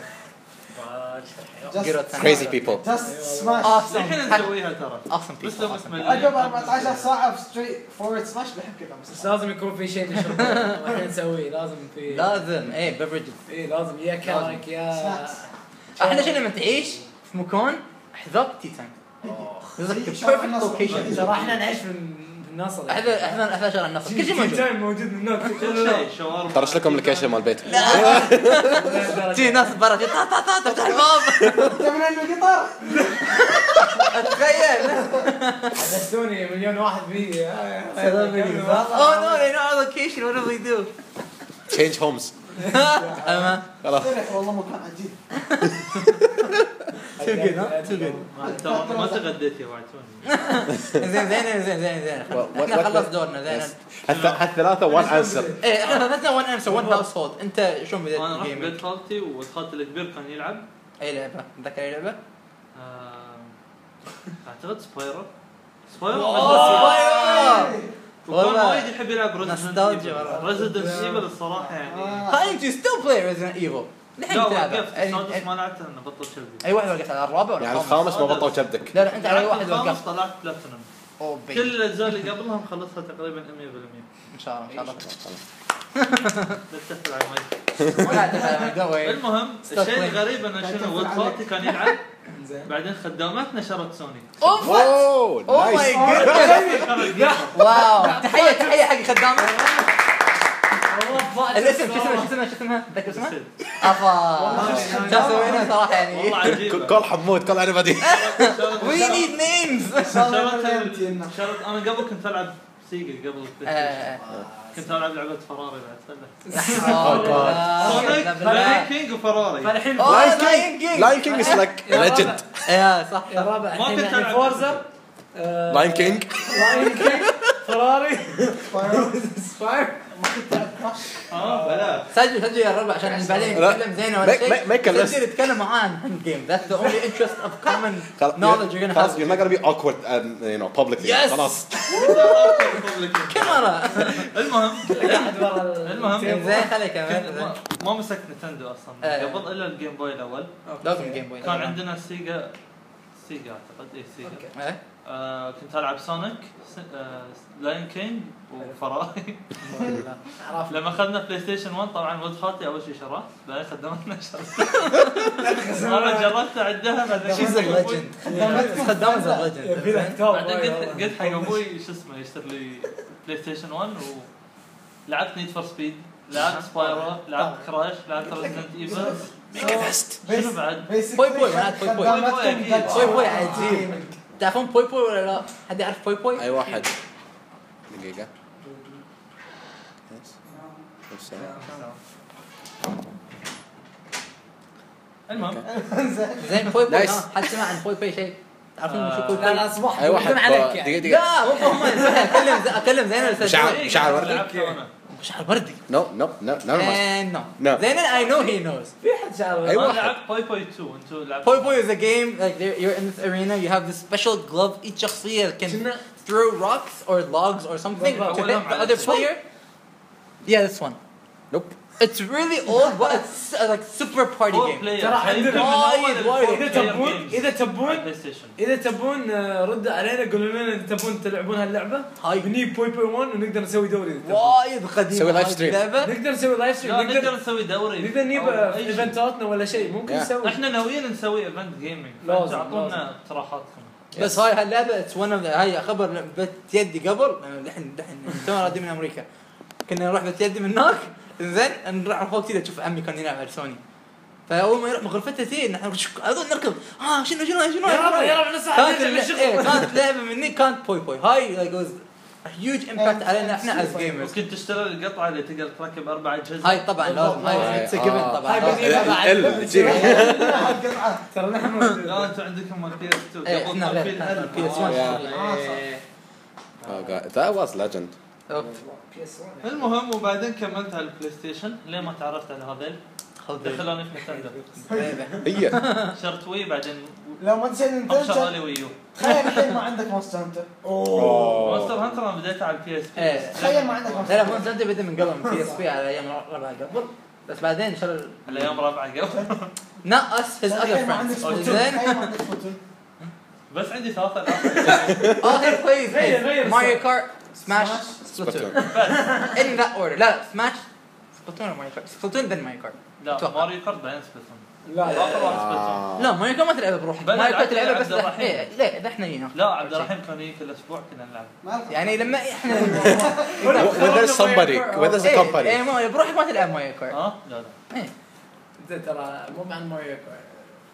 Just Crazy people. جاست سماش الحين نسويها ترى. awesome بس people لو awesome اسمه عقب أربعة عشر ساعة في ستريت فورورد سماش بحب كذا بس لازم يكون في شيء نشربه واحنا نسويه لازم في لازم ايه beverages ايه لازم يا كارك يا سناكس احلى شيء لما تعيش في مكان حذاك تي تايم It's like the perfect location ترى احنا نعيش في النصر احنا احنا احنا شغل النصر كل شيء موجود تايم موجود من هناك كل شيء شاورما. طرش لكم اللوكيشن مال البيت. تي ناس برا تا تا تا تفتح الباب تمرين القطار تخيل حدثوني مليون واحد بي oh no they know our location what do we do Change homes. أما خلاص. والله مكان عجيب too good huh too good ترى ما تغديت يا بعد توني. زين زين زين زين زين What- احنا what- خلص what- دورنا زين Yes. هالث- هالثلاثة one answer. ايه احنا ثلاثنا one answer one household انت شلون بديت انا رحت الجيمنج بيت خالتي وخالتي الكبير كان يلعب. اي لعبه تذكر اي لعبه آه، اعتقد سبايرو. سبايرو وكان والله. وايد يحب يلعب نوستالجيا والله. ريزيدنت ايفل الصراحه يعني. هاي انت ستيل بلاي ريزنت ايفل الحين لا تلعب وقفت السادس ما لعبت لانه بطل شبدي. اي واحد وقفت على الرابع ولا يعني الخامس؟ الخامس ما بطوا كبدك. لا لا انت على اي واحد الخامس وقفت طلعت بلاتينوم. اوه بي كل الاجزاء اللي قبلها مخلصها تقريبا مية بالمية. ان شاء الله ان شاء الله لا تدخل على المايك. ولا تفهم قوي المهم Stop الشيء playing. الغريب انه شنو ولد خالتي كان يلعب بعدين خدامتنا شرت سوني. اوه وات Oh, اوه nice. ماي جاد واو تحيه تحيه حق خدامه الاسم شو اسمه شو اسمه شو اسمها تذكر اسمها افا شو سوينا صراحه يعني والله عجيب. كل حمود كل عنبدي. وي نيد نيمز شرت شرت انا قبل كنت العب سيجا قبل البلاي ستيشن. كنت العب لعبه فراري بعد سونيك لاين كينج وفراري. فالحين اوه لاين كينج Lion King is like legend. يا صح يا رابع ما كنت الحين ألعب. فورزا Lion King. لاين كينج فراري سباير اه بلا سجل سجل يا ربع عشان بعدين لا. نتكلم زين ولا Make- شيء make- make a list. سجل نتكلم معاه عن جيم that's the only interest of common خلاص. knowledge you're gonna خلاص, have You're not gonna be awkward and you know publicly. Yes. خلاص. كاميرا المهم قاعد ورا المهم. زين خليك كنت كمان ما- ما مسكت نتندو اصلا آه. قبل الا الجيم بوي الاول. لازم جيم بوي كان عندنا سيجا سيجا اعتقد اي سيجا. إيه؟ آه كنت العب سونيك آه لاين كينج وفراري. عرفت لما اخذنا بلاي ستيشن واحد طبعا ولد خالتي اول شيء شراه بعدين خدمتنا شراه. انا جربت اعدها بعدين She's a legend خدامة a يبي له legend كتاب بعدين قلت قلت حق ابوي شو اسمه يشتري لي بلاي ستيشن واحد ولعبت نيد فور سبيد لعبت سبايرو لعبت كراش لعبت ريزدنت ايفل شنو بعد بوي بوي معناته بوي بوي. بوي أكيد. بوي بوي عجيب تعرفون بوي بوي ولا لا؟ حد يعرف بوي بوي؟ أي واحد. دقيقة. Yes. المهم زين بوي بوي Nice. ها حد سمع عن بوي بوي شيء؟ تعرفون شو كل لا لا اصبح اي واحد عليك دقيقه يعني دقيقه لا مو هم اتكلم اتكلم زين ولا مشاعر مشاعر وردي مشاعر وردي نو نو نو نو نو No. زين اي نو هي نوز في حد شعر أيوة. انا لعبت بوي بوي اثنين انتوا لعبتوا Poi Poi is a game like there- you're in this arena you have this special glove each شخصية can شنو؟ throw rocks or logs or something بالضبط. to hit أولهم the على other الاسود. player. Yeah, this one. Nope. It's really old but it's uh, like super party فور game. بلاير ترى عندنا وايد- وايد. اذا تبون اذا تبون بلاي ستيشن اذا تبون آه، ردوا علينا قولوا لنا اذا تبون تلعبون هاللعبه هاي. بني بوي بوي واحد ونقدر نسوي دوري إذا تبون. وايد قديم. سوي لايف هاي ستريم. اللعبة. نقدر نسوي لايف ستريم لا نقدر نقدر نسوي دوري نقدر نجيب أو آه، أي شيء. ايفنتاتنا ولا شيء ممكن Yeah. نسوي احنا ناويين نسوي ايفنت جيمنج لازم، تعطونا لازم. اقتراحاتكم بس هاي هاللعبة it's one of the هاي خبر بيت يدي قبل الحين الحين تونا رادين من امريكا كنا نروح بيت يدي من هناك زين نروح فوق كذا تشوف عمي كان يلعب على سوني فاول ما يروح من غرفته تي نحن اظن نركض ها شنو شنو شنو يا رب يا رب نسمع كانت الل- إيه، كانت لعبه مني كانت بوي بوي هاي like was a huge impact علينا احنا as gamers ممكن تشتري القطعه اللي تقدر تركب اربع اجهزه هاي طبعا لازم هاي هاي- it's a given آه. طبعا هاي لازم. بدي بعد. ال- ال- جي. ترى نحن موجودين. لا انتم عندكم مال بي اس اثنين إيه، قبل احنا كان في غير الألف. بي اس آه. واحد Oh god, that was legend. المهم وبعدين كملت على البلاي ستيشن ليه ما تعرفت على هذيل دخلوني في نتندو هي شرت وي بعدين لو ما تشيل ابشر نينتندو لي ويو تخيل الحين ما عندك مونستر هانتر مونستر هانتر انا بديت على البي اس بي إيه. تخيل ما عندك لا مونستر لا مو انت بدا من قبل بي اس بي على ايام ربعها قبل بس بعدين شر الايام رابعه قبل not us his other تخيل ما عندك friends سبلاتون زين تخيل ما عندك سبلاتون بس عندي ثلاثه العاب all he plays غير- is غير Mario Kart Smash Splatoon. Splatoon in that order لا Smash Splatoon or Mario Kart Splatoon then Mario Kart لا أتوقع. ماريو كارت بعدين سبلاتون لا اخر واحد سبلاتون لا ماريو كارت ما تلعبها بروحك بل ماريو كارت لعبت تلعبها بس عبد الرحيم. إيه، لا لا احنا هنا لا عبد الرحيم كان يجي كل اسبوع كنا نلعب ما لك- يعني لما احنا When there's somebody, when there's a إيه، company. إيه، ما- بروحك ما تلعب ماريو كارت ها لا لا إيه. انت ترى مو عن ماريو كارت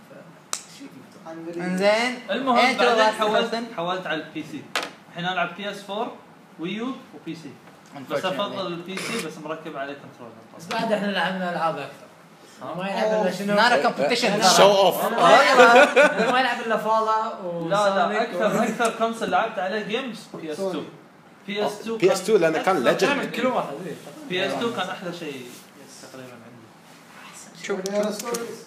عن بريد. انزين المهم أنت لو بعدين راح حولت تحسن- حولت على البي سي الحين العب بي اس أربعة ويو وبي سي بس افضل البي سي بس مركب عليه كنترولر بس بعد احنا لعبنا العاب اكثر ما يلعب الا شنو not a competition Show off. ما يلعب الا فالا لا لا اكثر اكثر كونسل لعبت عليه جيمز بي اس اثنين بي اس اثنين بي اس اثنين لانه كان legend. كل واحد بي اس اثنين كان احلى شيء تقريبا عندي شو ريال ستوريز.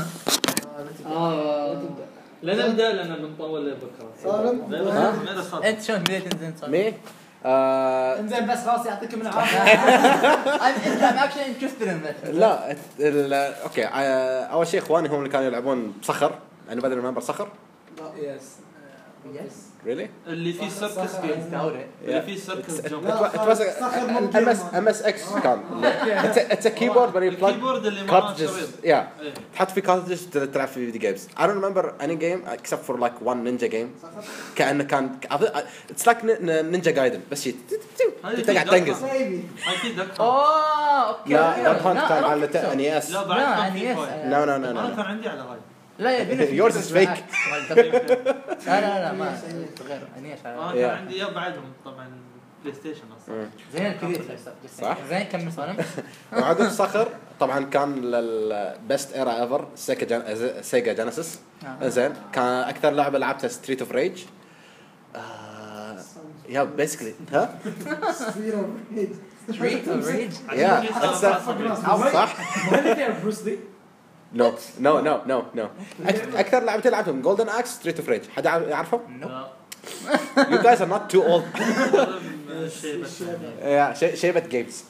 لا نبدا لان بنطول لبكره سالم. ماذا صار؟ انت شلون بديت تنزل صار؟ Me? Uh, انزين بس خلاص يعطيكم العافيه I'm I'm actually interested in this. لا ال- اوكي آه، اول شيء اخواني هم اللي كانوا يلعبون بصخر يعني بدل ما بصخر يس Yes. really اللي فيه سيركس I جيم doubt it. اللي فيه سيركس جمب لا، it was صخر مو ام اس game. ام اس اكس كان it's a, it's a keyboard where you plug الكيبورد اللي معاه cartridges شريط yeah إيه. تحط فيه cartridges تلعب في فيديو جيمز I don't remember any game except for like one ninja game كأنه كان it's like ninja gaiden بس شيء تقعد تنقز بيبي هاي في دك اوه اوكي لا أوكي. لا هانت لا، كان I don't على think so. ان اس لا لا بعد كان يعني في يس فايل. no no no انا no كان عندي على هاي لا يبينا في Yours is بس fake. بالعكس. لا لا لا ما غير انيش انا Yeah. كان عندي اياه بعدهم طبعا بلاي ستيشن اصلا زين الكبير صح. زين كمل صالم وعقب صخر طبعا كان للبست ايرا ايفر سيجا سيجا جينيسيس آه. زين كان اكثر لعبه لعبتها ستريت اوف ريج يا بيسكلي ها سفير اوف ريج. Street of Rage يا صح ما اللي فيها بروس لي نو نو نو نو نو اكثر لعبتين لعبتهم جولدن اكس ستريت اوف ريج حد يعرفهم you guys are not too old يا شي- شيبة جيمز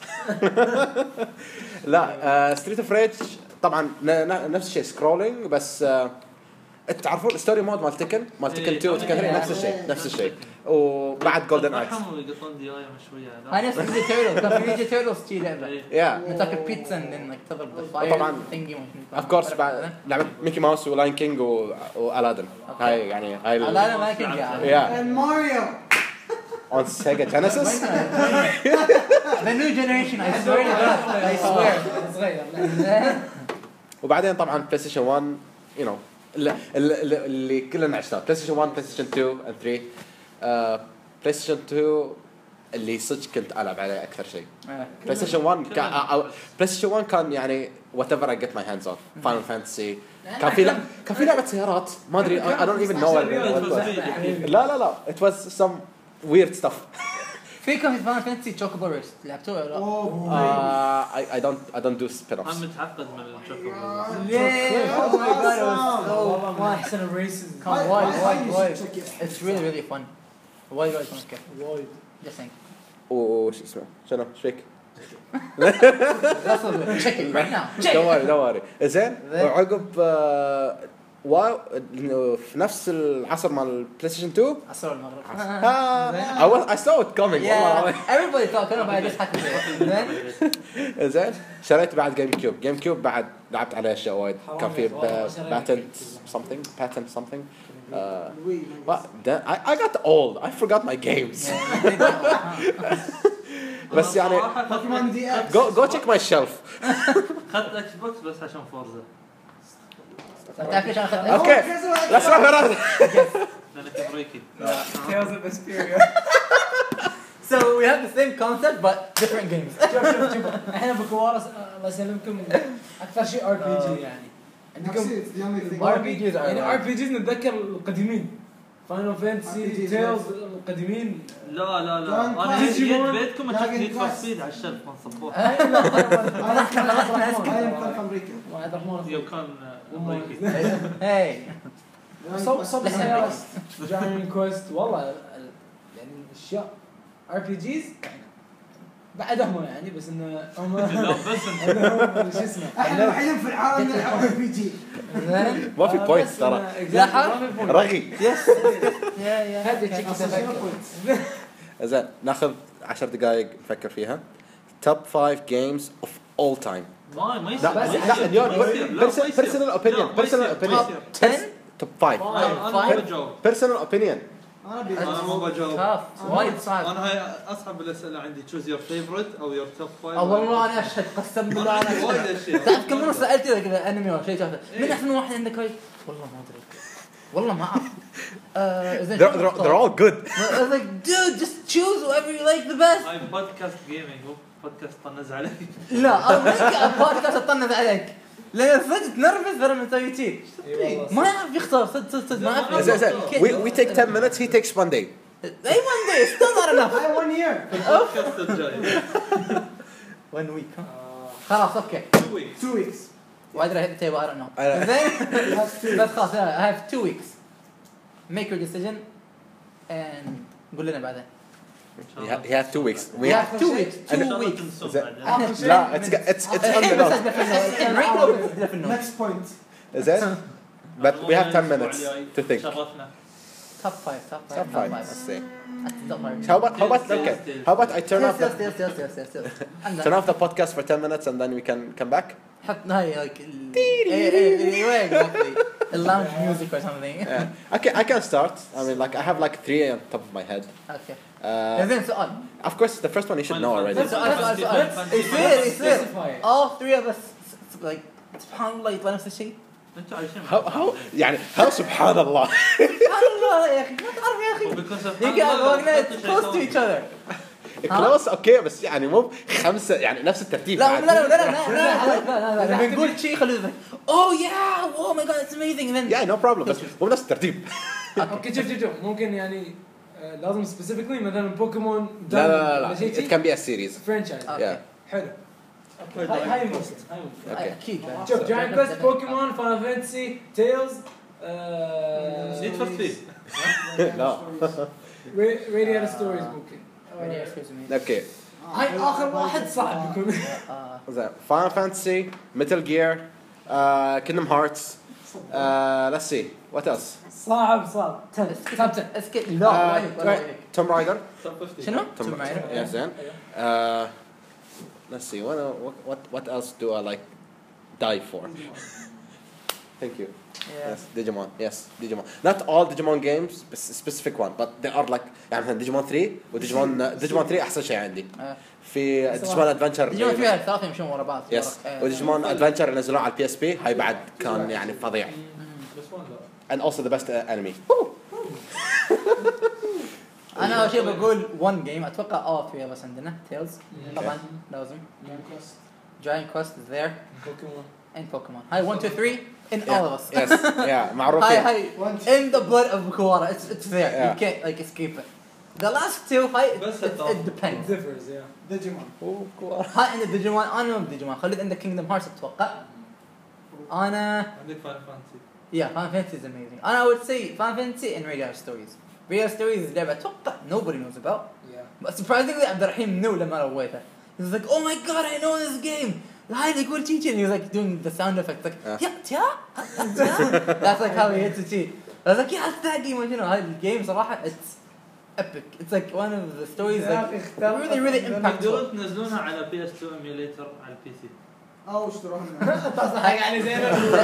لا ستريت اوف ريج طبعا ن- ن- نفس الشيء سكرولينج بس آه، تعرفون الستوري مود مال تكن مال تكن إيه، اثنين وتكن ثلاثة نفس الشيء نفس الشيء وبعد جولدن اكس يقطون ديايه مشويه هاي نفس نينجا تيرتلز كان في نينجا تيرتلز شي لعبه يا نتاكل بيتزا انك تضرب بالفاير طبعاً. ثينجي اوف كورس بعد لعبه ميكي ماوس ولاين كينج والادن هاي يعني هاي لا لا ما كان جاي يا And Mario. on Sega Genesis The new generation I swear to God I swear صغير وبعدين طبعا بلاي ستيشن واحد you know اللي, اللي, اللي كلنا عشناه بلاي ستيشن واحد بلاي ستيشن اثنين and ثلاثة بلاي ستيشن اثنين اللي صدق كنت العب عليه اكثر شيء. آه. بلاي ستيشن واحد كان بلاي ستيشن واحد كان يعني whatever I get my hands on. Final Fantasy كان في لا كان في لعبة سيارات ما ادري I don't even know what it was. لا لا لا it was some weird stuff. في كان في فان فانتسي تشوكوبو ريس لعبتوه ولا لا؟ اوه uh, I I don't I don't do spin-offs. انا متعقد من الشوكو. ليه؟ Oh my god it was والله so ما fun. احسن الريسز كان I- وايد I- I وايد used to وايد. check it. It's really really fun. وايد وايد فun. وايد Just saying. وش اسمه شنو ايش فيك؟ That's all. Check it right now. Check don't it. worry don't worry. زين وعقب آه، واو إنه في نفس العصر مال البلاي ستيشن اثنين عصر المغرب. آه I was I saw it coming والله. Yeah. Everybody thought كانوا بعد يضحكوا فيه. زين. زين شريت بعد جيم كيوب جيم كيوب بعد لعبت عليه اشياء وايد كان في والله شريت باتنت something patent something uh, but then I I got old I forgot my games بس يعني بوكيمون دي اكس go go check my shelf اخذت اكس بوكس بس عشان فورزا تعرف ليش انا اخذت؟ اوكي let's wrap it up لانك امريكي. Tales of Vesperia. So we have the same concept but different games. شوف شوف شوف احنا بكوارس الله يسلمكم اكثر شيء ار بي جي يعني عندكم ار بي جيز يعني ار بي جيز نتذكر القديمين فاينل فانتسي R P Gs تيلز القديمين لا لا لا كان انا كلاس. جيت بيتكم اشوف Dragon نيد فور Quest. سبيد على الشلف ما نصبوها. هاي لا انا كان في امريكا عبد الرحمن يوم كان امريكي. Hey. صوب صوب لسه سيارات جاين كويست والله ال- يعني اشياء ار بي جيز بعدهم يعني بس انه هم لا بس انت عندهم شو اسمه احنا الوحيدين في العالم نلعب ار بي جي زين. ما في آه، بوينت بس ترى إنه- لاحظ؟ ما في point. رغي Yes. يا يا هذه تشيك تفكر زين ناخذ عشر دقائق نفكر فيها توب خمسة games of all time ما ما يصير. لا ما لا يصير. اليوم ما يصير. لا، ما يصير. personal opinion لا، ما يصير. personal ما opinion يصير. ten. توب خمسة انا أنا ما بجاوب. personal opinion انا بي انا ما بجاوب. tough. وايد صعب. انا هاي اصعب الاسئله عندي choose your favorite او your top five. اه والله انا اشهد قسم بالله انا عندي وايد انا اشياء. تعرف كم مره سالت اذا كذا انمي ولا شيء شافه من احسن واحد عندك هاي والله ما ادري والله ما اعرف آه، زين they're, they're, they're all good I was like dude just choose whoever you like the best. هاي بودكاست جيمنج مو بودكاست طنز علي. لا انا البودكاست اطنز عليك لان صدق تنرفز ترى من تسوي شيء ما يعرف يختار صدق صدق صدق ما يعرف زين زين we, we take ten minutes he takes one day اي one day still not enough I one year البودكاست الجاي. one week خلاص اوكي two weeks. two weeks why did I hit the table I don't know I- زين you have two بس خلاص I have two weeks make your decision and قول لنا بعدين he ha- he has two weeks we we have have two weeks إن two شاء الله weeks تنسون زين. بعدين. لا it's it's it's on the note next point زين but we have ten minutes to think شرفنا. top five top five top five five let's see top five how about how about okay how about I turn off still the still still still still still turn off the podcast for ten minutes and then we can come back حط هاي like ايه ايه ايه exactly اللونج music or something yeah. okay I can start I mean like I have like three on top of my head اوكي uh, زين سؤال of course the first one you should know already سؤال سؤال سؤال يصير يصير all three of us like سبحان الله يطلع نفس الشيء انتوا عايشين how how يعني how سبحان الله سبحان الله يا اخي ما تعرف يا اخي وبيكون سبحان يمكن الله we're حطوا شيء close to ثاني. each other close اوكي بس يعني مو خمسة يعني نفس الترتيب لا بعد. لا لا لا لا لا لا بنقول شيء خليه oh yeah oh my god it's amazing and then yeah no problem بس مو نفس الترتيب اوكي شوف شوف شوف ممكن يعني آه، لازم سبيسيفيكلي مثلا بوكيمون لا لا لا لا it can be a series فرانشايز اوكي حلو هاي هاي موست هاي موست okay اكيد شوف جاين كويست بوكيمون فاينل فانتسي تيلز نيد فور سبيد. لا راديال ستوريز ممكن اوكي هاي اخر واحد صعب يكون زين Final Fantasy Metal Gear uh, Kingdom Hearts uh, let's see what else صعب صعب توب عشرة اسكت uh, لا right, Tomb Raider شنو؟ Tomb Tomb Raider. yeah زين uh, let's see what what what what else do I like die for thank you Yeah. yes Digimon yes Digimon not all Digimon games but specific one but they are like يعني مثلا Digimon three وديجيمون Digimon three أحسن شيء عندي آه. في Digimon Adventure ديجيمون فيها ثلاثة يمشون ورا بعض يس آه. وديجيمون Adventure اللي نزلوه على البي اس بي هاي بعد كان يعني فظيع and also the best uh, enemy انا اول شيء بقول one game اتوقع اه فيها بس عندنا تيلز طبعا لازم جاين كويست is there بوكيمون and Pokemon هاي one two three in Yeah. all of us Yes. Yeah. معروفين. هاي هاي in the blood of Kuwara it's it's there Yeah. you can't like escape it the last two هاي بس it, it, it depends differs yeah ديجيمون هاي عند ديجيمون انا ما ديجيمون خليت عندك Kingdom Hearts اتوقع انا عندك فاين فانتسي yeah Final Fantasy is amazing and I would say Final Fantasy and Radiant Stories Radiant Stories is لعبة اتوقع nobody knows about yeah but surprisingly عبد الرحيم knew لما رويتها he was like oh my god I know this game هاي يقول تيجي and he was like doing the sound effects like Yeah. yeah yeah that's like how he hits the cheat I was like yeah it's that game you know هاي الجيم صراحة it's epic it's like one of the stories like really really impactful تقدرون تنزلونها على بي اس تو ايميوليتر على البي سي او اشتروها تصحى يعني زين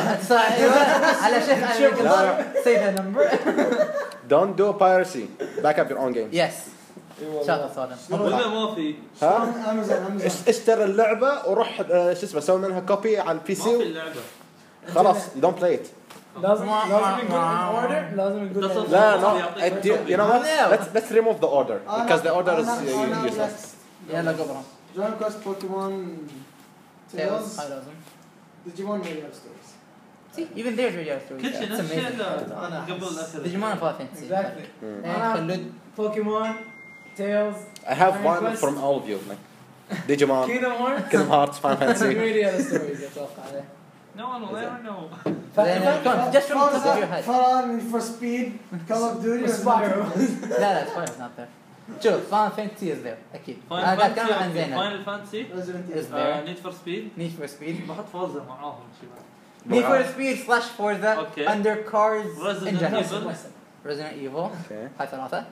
على شيخ انا say the number Don't do piracy. Back up your own games. yes شاطر صادم ولا ما في ها؟ امازون امازون اش- اشتري اللعبة وروح آه، شو اسمه سوي منها كوبي على البي ما في سي اللعبه خلاص you don't play it. لازم لازم يقول in order لازم يقول تصل- in- لا no يعطيك it- you, you know what No. let's let's remove the order because the order is uh, useless. يلا قبرهم جون كوست بوكيمون Tails تيلز هاي لازم ديجيمون ريال ستوريز see even there's Radiant Stories كل شيء it's نفس الشيء amazing إلا أنا قبل الاخر ديجيمون Final Fantasy exactly and خلود بوكيمون تيلز I have Iron one Quest. from all of you like Digimon, كينغدم هارت Kingdom Hearts, Final Fantasy. ريال ستوريز اتوقع عليه No one will ever know. Then, uh, come on, just from the top of your head. فرار فور سبيد كول اوف ديوتي سبايرو لا لا Spider is not there شوف Final Fantasy is there أكيد أنا فاينل قاعد أتكلم عن فانتسي زينب فاينل فانتسي is there نيد فور سبيد Need for Speed بحط فورزا معاهم شباب Need for Speed slash Forza Okay. under cars in Resident general Evil. Resident Evil Okay. هاي ثلاثة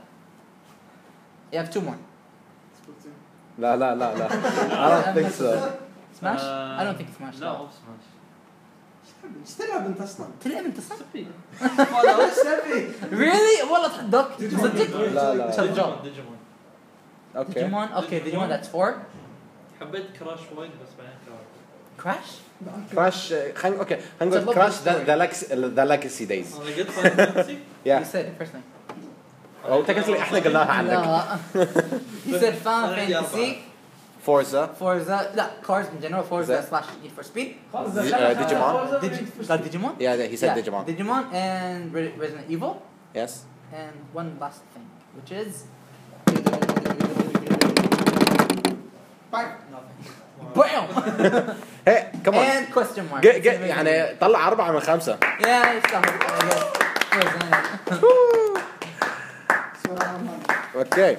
you have two more لا لا لا لا. I don't think so. Smash Uh, I don't think Smash لا مو سماش ايش تلعب انت اصلا؟ تلعب أنت صح سبي ايش تبي؟ really والله تحدك صدق لا لا. شجاع ديجيمون ديجيمون Okay. ديجيمون okay Digimon that's four حبيت كراش وايد بس بعدين كراش Crash Crash. uh, خلينا okay. خلينا It's a نقول lovely Crash the story. the legacy the legacy days. انا قلت فاينل فانتسي you Yeah. said it first time أو تكلت لي إحنا قلناها عنك. لا he said Final أنا عندي Fantasy Forza. Forza لا cars in general Forza Is that- slash Need for Speed Di- uh, Digimon. Digi- got Digimon Yeah, yeah, he said Yeah, Digimon. Digimon and Re- Resident Evil Yes. and one last thing which is BAM Hey, come on. and question mark Get, get, يعني طلع أربعة من خمسة. yeah يستاهل Okay.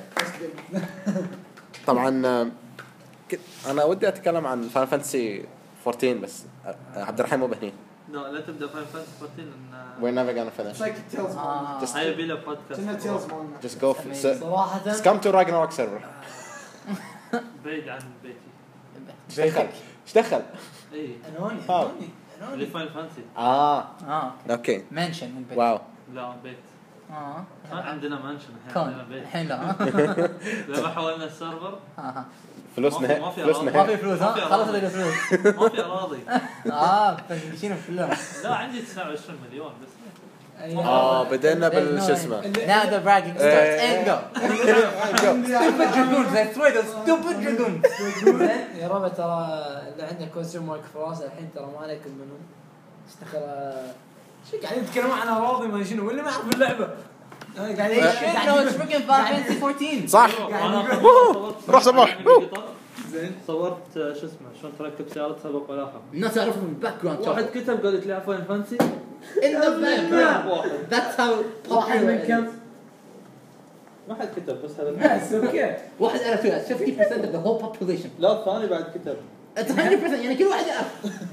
طبعا آه، ك- أنا ودي أتكلم عن Final Fantasy fourteen بس آه، عبد الرحيم مو بهني. لا لا تبدا فاينل فانتسي فورتين We're لان never gonna finish. لايك تيلز آه. Just- هاي بيلا بودكاست كنا تيلز مالنا Just go. For, Amazing. so, صراحة just come to Ragnarok server. بعيد عن بيتي إيش دخل؟ إيش دخل؟ اي انوني آه. انوني اللي انوني فاينل فانتسي آه. اه أوكي. منشن من بيت واو. لا بيت اه ما عندنا منشن الحين كون عندنا بيت الحين لا لما حولنا السيرفر آه. فلوسنا ما هي. في- ما في فلوسنا ما هي. في فلوس ها ما في خلاص أراضي. اللي فلوس ما في اراضي اه فنشينهم كلهم لا عندي تسعة وعشرين مليون بس آه بدينا بالشو اسمه. now the bragging starts and go stupid dragoons I swear those stupid dragoons يا ربع ترى اللي عنده كونسيوم مارك فراس الحين ترى ما عليكم منهم ترى شو قاعدين يتكلمون عن اراضي ما شنو واللي ما يعرف اللعبه قاعدين shit no it's freaking Final Fantasy fourteen صح. انا ووهو. روح صباح. زين صورت آه، شو اسمه شلون تركب سيارة سباق ولاحق الناس يعرفوا من الباك جراوند واحد كتب قال لي تلعب فاينل فانتسي in the background واحد that's how واحد popular من it كم؟ is. ما حد كتب بس هذا بس اوكي واحد يعرف فيها fifty percent of the whole population لا الثاني بعد كتب it's one hundred percent يعني كل واحد يعرف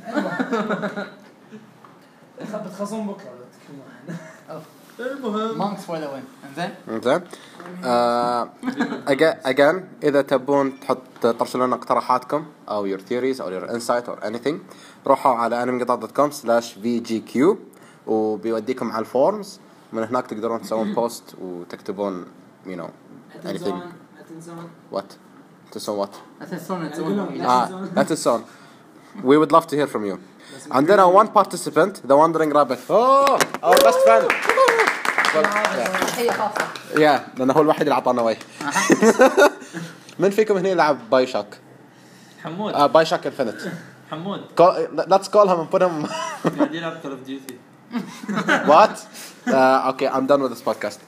بتخصم بكره لو تتكلمون عنه المهم monks for the win انزين زين. آه، again again إذا تبون تحط ترسلون لنا اقتراحاتكم أو your theories أو your insight or anything روحوا على animegatot dot com slash v g q وبيوديكم على الفورمز من هناك تقدرون تسوون بوست وتكتبون you know anything لا تنسون what تسوون what أتنسون آه لا تنسون we would love to hear from you. عندنا one participant the wandering rabbit. oh our best friend تحية خاصة. يا لأنه هو الوحيد اللي عطانا وجه. من فيكم هنا يلعب باي شوك؟ حمود. آه باي شوك انفينيت. حمود. Let's call him and put him. قاعد يلعب كول اوف ديوتي. What? Uh, okay, I'm done with this podcast.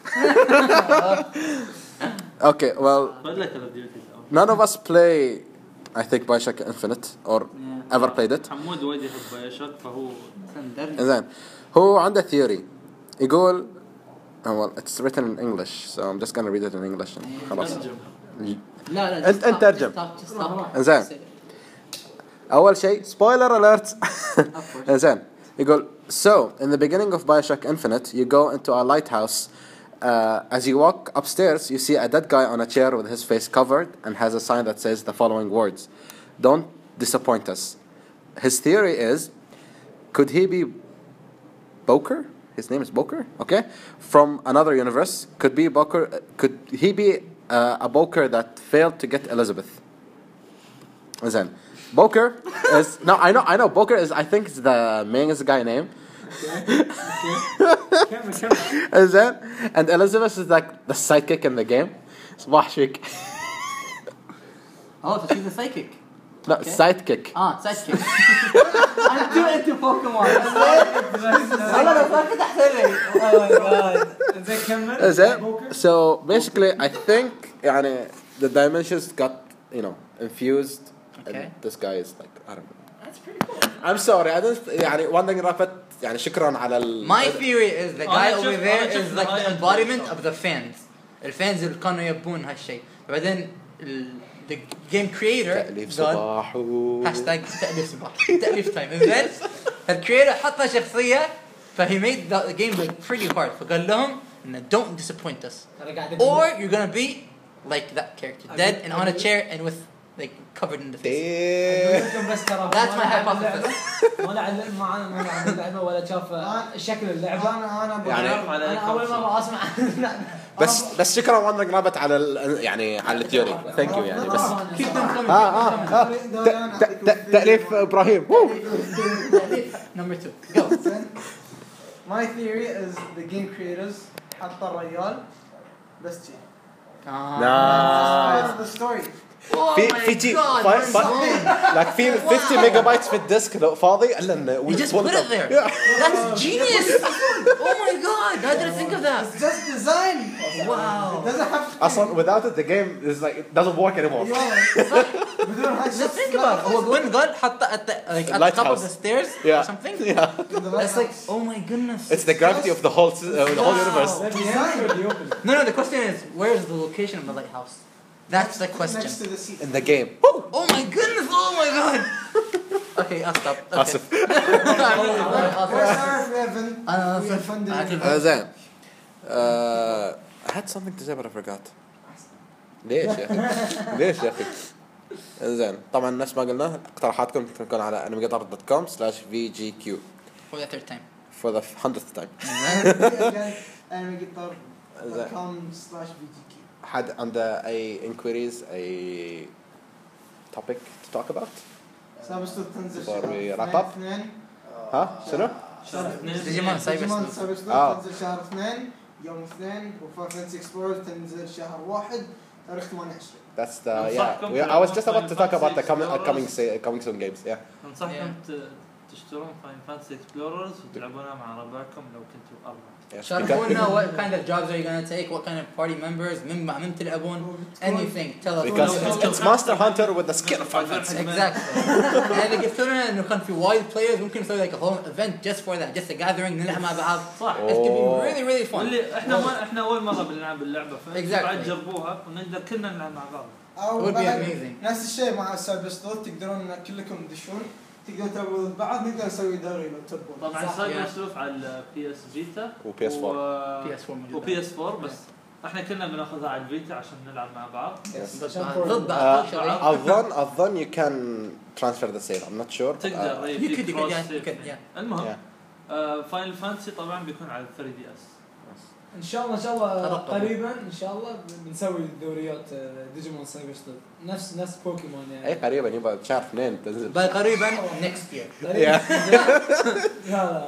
Okay, well, none of us play, I think, Bioshock Infinite or yeah. ever played it. حمود وايد يحب بايوشوك فهو. زين. هو عنده theory. يقول, oh, well, it's written in English, so I'm just gonna read it in English. خلاص. لا لا. أنت أنت ترجم. زين. أول شيء spoiler alert. زين. يقول so in the beginning of Bioshock Infinite you go into a lighthouse. Uh, as you walk upstairs, you see a dead guy on a chair with his face covered and has a sign that says the following words: "Don't disappoint us." His theory is, could he be Boker? His name is Boker, okay? From another universe. Could be Boker. Could he be uh, a Boker that failed to get Elizabeth? Then Boker is no, I know, I know. Boker is, I think, it's the main is the guy name. Is that? And Elizabeth is like the sidekick in the game. صباح شيك. Oh, so she's a psychic. No, okay. sidekick. Ah, sidekick. I'm too into Pokemon. أنا لو فاكر أحسن. Oh my god. إذا كمل. Is that? So basically, I think, يعني the dimensions got, you know, infused. Okay. And this guy is like, I don't know. That's pretty cool. I'm sorry, I don't. يعني Wandering Rapid. يعني شكرا على ال. My theory is the guy over there is like the embodiment of the fans. الفانز اللي كانوا يبون هالشيء. بعدين the game creator تأليف صباح. hashtag تأليف صباح. تأليف time. إذن الcreator حطها شخصية فhe made the game like pretty hard. فقال لهم إنه don't disappoint us. Or you're gonna be like that character, dead and on a chair and with like covered in the face. That's my hypothesis. ما لعب معنا ما لعب اللعبة ولا شاف شكل اللعبة. أنا أنا يعني أنا أول مرة أسمع. بس بس شكرا Wandering Rabbit على ال يعني على الثيوري. Thank you يعني بس. Keep them coming. آه آه تأليف إبراهيم. Number two. Go. My theory is the game creators حط الرجال بس شيء. Nice. The story. في في جي like في fifty megabytes في الديسك لو فاضي إلا إنه You just put it there. That's genius. Oh my god, I didn't think of that. It's just design. Wow. It doesn't have to. أصلاً without it the game is like it doesn't work anymore. بدون هاي. Just think about it. هو وين قال حط at the like at the top of the stairs or something? Yeah. That's like oh my goodness. It's the gravity of the whole uh, the whole universe. No, no. The question is, where is the location of the lighthouse? That's the question. Next to the sea. In the game. Oh my goodness! Oh my god! Okay, I'll stop. Okay. آسف. أنا زين. I had something to say but I forgot. ليش يا أخي؟ ليش يا أخي؟ زين. طبعا نفس ما قلنا اقتراحاتكم تكون على animegator dot com slash v g q. For the third time. For the hundredth time. animegator dot com slash v g q. had under a inquiries a topic to talk about. سابستو تنزل Before we شهر wrap up. اثنين. ها شنو؟ شهر اثنين. ديجيمون ديجيمون سايبر سابستو آه. تنزل شهر اثنين يوم اثنين وفانتسي اكسبلورر تنزل شهر واحد تاريخ ثمانية وعشرين. That's the yeah. We, I was just about to talk about the coming coming coming soon games. Yeah. ننصحكم تشترون فاين فانتسي اكسبلوررز وتلعبونها مع ربعكم لو كنتوا أربعة. شاركونا what kind of jobs are you gonna take, what kind of party members, من مع من تلعبون, anything. Tell us. Because it's, it's Monster Hunter with the skin of Final Fantasy. Exactly. يعني قلت لنا إنه كان في wide players ممكن نسوي like a whole event just for that, just a gathering نلعب مع بعض. صح. It could be really really fun. واللي احنا ما احنا أول مرة بنلعب اللعبة فانتوا Exactly. بعد جربوها ونقدر كلنا نلعب مع بعض. أو Would be بعد amazing. نفس الشيء مع سايبستو تقدرون كلكم تدشون تقدرون تلعبون بعض نقدر نسوي دوري لو تبون. طبعا سايبر سلوف على البي اس فيتا وبي اس فور. بي اس فور موجود. وبي اس فور بس احنا كنا بناخذها على الفيتا عشان نلعب مع بعض. ضد أظن أظن you can transfer the sale. I'm not sure. تقدر you could you could yeah. المهم فاينل فانتسي طبعا بيكون على ثري دي اس. ان شاء الله ان شاء الله قريبا ان شاء الله بنسوي دوريات ديجيمون سايبر ستون نفس نفس بوكيمون يعني. اي قريبا يبقى شهر اثنين تنزل. قريبا next year. لا لا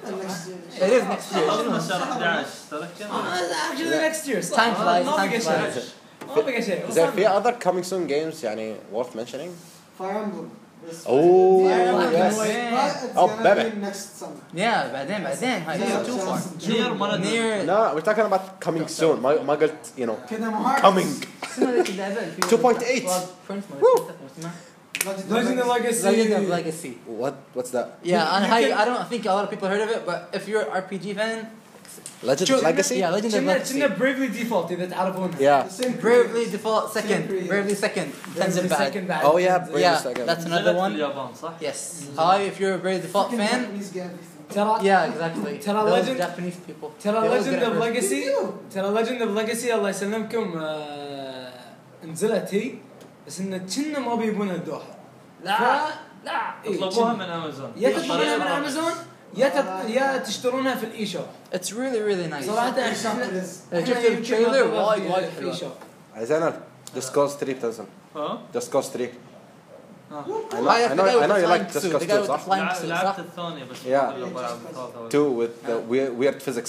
It is next year. خلصنا شهر أحد عشر ترى كم actually next year صح. Time flies, ما time بقى شيء. flies. ما بقى شيء. Is there في other coming soon games يعني worth mentioning? Fire Emblem. Yes. Oh Fire yes. Emblem. But it's Oh, gonna baby. be next summer. Yeah, بعدين بعدين هاي Yeah, too far. just نير ما ندري Near. No, we're talking about coming soon. ما ما قلت you know كذا مهارس. coming. اسمها ذيك اللعبة اللي فيها two point eight. Friends ما اسمها. Legend of Legacy. Legend of Legacy. What what's that? Yeah, and You I can- I don't think a lot of people heard of it, but if you're an R P G fan, Legend of Legacy? yeah, Legend of كنا Legacy. كنا Bravely Default إذا تعرفونها. Yeah. The same Bravely creators. Default second, creators. Bravely second, تنزل Bravely بعد. second بعد. Oh, yeah, تنزل. Bravely Yeah, second. that's نزلت another في one. اليابان صح؟ Yes. Hi, if you're a Bravely Default Fucking fan. Japanese get everything. ترى Yeah, exactly. ترى Those Legend- Japanese people. ترى They always Legend get it of first. Legacy ترى Legend of Legacy الله يسلمكم آه، نزلت هي بس إن كنا ما بيبونها الدوحة. لا لا إيه، طلبوها كنا. من امازون يا تطلبونها من امازون يا تط... يا تشترونها في الاي شوب It's really really nice. صراحه Shop احنا it is. شفت إحنا يمكن التريلر نطلبها وايد في- وايد في حلوة. الاي شوب. عايزين Just Cause three بتنزل. ها؟ Just Cause three. ها. I know I know I know you like Just Cause two صح? Flying suit, لعبت صح؟ الثانية بس Yeah. ما بلعب الثالثة. Two with the weird weird physics.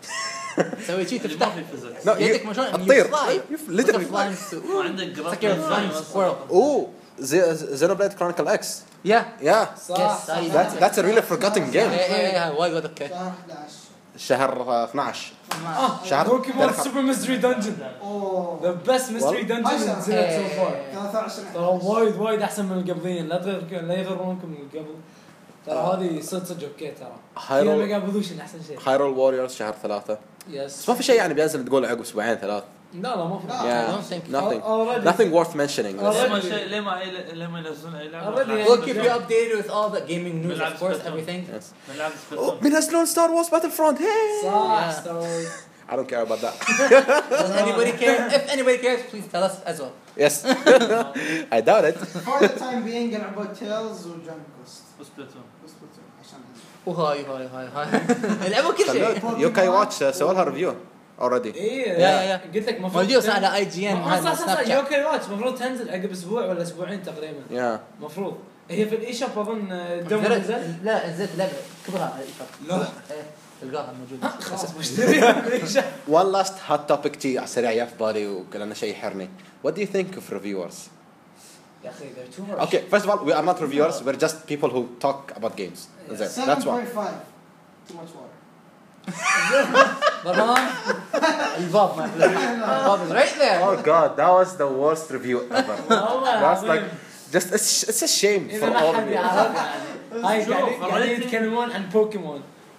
سوي شيء اللي ما تفتح في فيزيكس. No, يدك you- ما شلون تطير. fly. You literally fly. flying suit. ما عندك It's جرافيك like you're flying squirrel. Oh, Z- Xenoblade Chronicle X. Yeah. Yeah. صح Yes, صح. I- That's that's a really forgotten Yeah, game. yeah, yeah. وايد وايد اوكي. شهر أحد عشر. شهر uh, اثناشر. اه شهر بوكيمون ثلاثة. سوبر ميستري دنجن اوه. ذا بيست ميستري والله. دنجن عشرة. نزلت سو فار ثلاثة عشر. ترى وايد وايد احسن من القبلين لا تغير لا يغرونكم من قبل ترى هذه صدق صدق اوكي ترى فيها هايرول ميجا ايفولوشن احسن شيء هايرول ووريرز شهر ثلاثة. يس بس ما في شيء يعني بينزل تقول عقب اسبوعين ثلاث. لا لا ما في لا. Yeah. don't think- Nothing. Already. Nothing worth mentioning. Already. ليه ما شيء ليه ما أي- ليه ما ينزلون اي لعبة؟ Already. نلعب We'll keep you Yeah. updated with all the gaming news, of بالعكس course, بس- everything. Yes. نلعب Oh, سبيشال. بينزلون ستار وورز باتل فرونت. Hey. صح Yeah. ستار I don't care about that. Does anybody care? If anybody cares, please tell us as well. Yes. I doubt it. For the time being لعبوا تيلز وجان كوست. وسبلاتون. بس بس عشان وهاي هاي هاي هاي لعبوا كل شيء. يوكاي واتش سووا لها ريفيو already. ايه يا- يا- يا. قلت لك المفروض موجود على اي جي ان آه، صح صح صح سناب شات. يوكاي واتش المفروض تنزل عقب اسبوع ولا اسبوعين تقريبا Yeah. المفروض هي في الاي شوب اظن الدوم نزل لا نزلت لعبه كبرها على الايشوب. لا. إيه، تلقاها موجوده. خلاص بشتريها في الإي شوب. One last hot topic تي على السريع يا في بالي وكلنا شيء يحرني. What do you think of reviewers? يا اخي they're too much. Okay, first of all, we are not reviewers. We're just people who talk about games. That's it. seven That's why. point five. Too much water. برهان الباب ما الباب is right there. Oh God, that was the worst review ever. والله That's like العظيم. just it's, it's a shame اذا for ما all حد of you. يعرف يعني هاي شوف، قاعدين قاعدين الريتنج- يتكلمون عن بوكيمون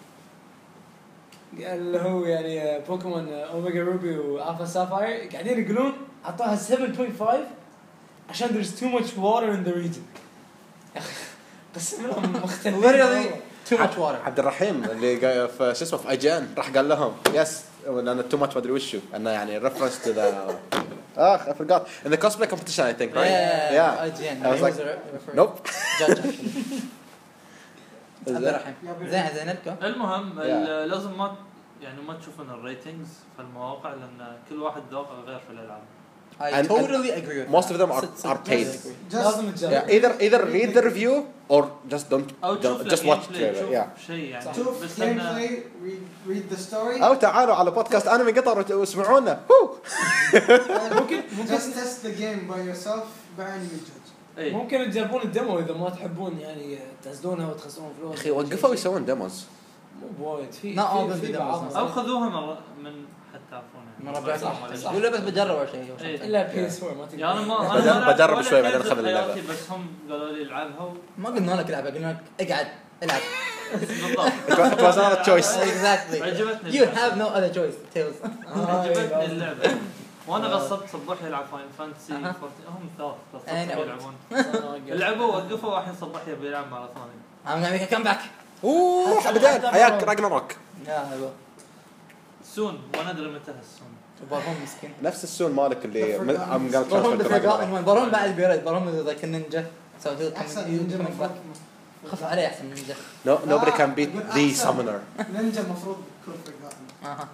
اللي هو يعني بوكيمون اوميجا روبي والفا سافاير قاعدين يقولون اعطوها سبعة فاصلة خمسة عشان there's too much water in the region. يا اخي قسم لهم مختلفين. Literally too much water. عبد الرحيم اللي قا- في شو اسمه في اي جي ان راح قال لهم يس لان تو ماتش ما ادري وشو انه يعني ريفرنس تو ذا اخ I forgot in the cosplay competition I think right Yeah, I G N. I was He like was a referee. nope. Judge actually. عبد الرحيم. زين زين نركب. المهم Yeah. ال- لازم ما يعني ما تشوفون الريتنجز في المواقع لان كل واحد ذوقه غير في الالعاب. I And- totally agree with most that. of them are- Sit- sit- are paid. totally agree. Just لازم تجرب. Yeah, either either read the review or just don't, او تشوف don't له just watch gameplay، trailer. تشوف Yeah. شيء يعني شوف بس gameplay, لان read read the story. او تعالوا على بودكاست انمي قطر واسمعونا. هو ممكن ممكن Just test the game by yourself بعين يجوز. اي ممكن تجربون الدمو اذا ما تحبون يعني تنزلونها وتخسرون فلوس. اخي وقفوا يسوون ديموز. مو بوايد في Not all في- the في demos بعض. are- او خذوها من من حد تعرفونها مرة بعد صح، صح. ولا بس بجرب اول شيء. إيه. الا بي اس أربعة ما تقدر. يعني انا ما بجرب- انا ما بجرب ولا شوي بعدين كنت أخذ اللعبة. حياتي، بس هم قالوا لي العبها و- ما قلنا لك العب قلنا لك اقعد العب. بالضبط. It was not a choice. Exactly. عجبتني You اللعبة. have no other choice. Tails. عجبتني اللعبه وانا غصبت صبحي يلعب فاين فانتسي أها. هم ثلاث أنا غصبتهم يلعبون لعبوا وقفوا والحين صبحي يبي يلعب مره ثانيه. I'm gonna make a comeback. اوه بعدين حياك راجناروك. يا هلو. سون ما ندري متى هالسون. برهم مسكين. نفس السون مالك اللي The Forgotten. I'm gonna برهم transfer to بفرقان Ragnarok. برهم بعد بيرد برهم ذاك النينجا. So he'll أحسن come. نينجا He'll come المفروض. back. خف عليه أحسن نينجا. No, nobody can beat أقول the أحسن. summoner. نينجا المفروض يكون forgotten. أها.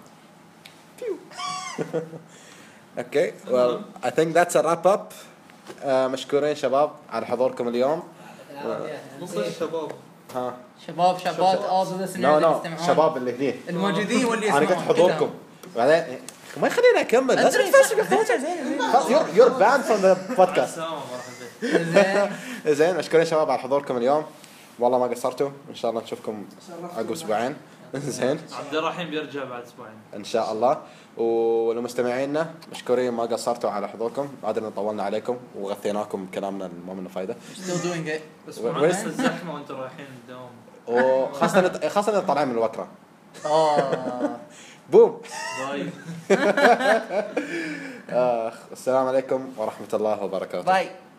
Okay, well, I think that's a wrap up. Uh, مشكورين شباب على حضوركم اليوم. مو بس شباب ها شباب شابات آضوا نو نو شباب اللي هني الموجودين واللي انا يسمعون قلت حضوركم بعدين ما يخليني اكمل لازم تفرش يور يور باند فروم ذا بودكاست زين اشكركم شباب على حضوركم اليوم والله ما قصرتوا ان شاء الله نشوفكم عقب اسبوعين زين عبد الرحيم بيرجع بعد اسبوعين ان شاء الله ولمستمعينا مشكورين ما قصرتوا على حضوركم عادنا طولنا عليكم وغثيناكم بكلامنا ما منه فايده still doing it بس مع الزحمه وانتم رايحين الدوام وخاصه خاصه طالعين من الوكره اه بوم باي السلام عليكم ورحمه الله وبركاته باي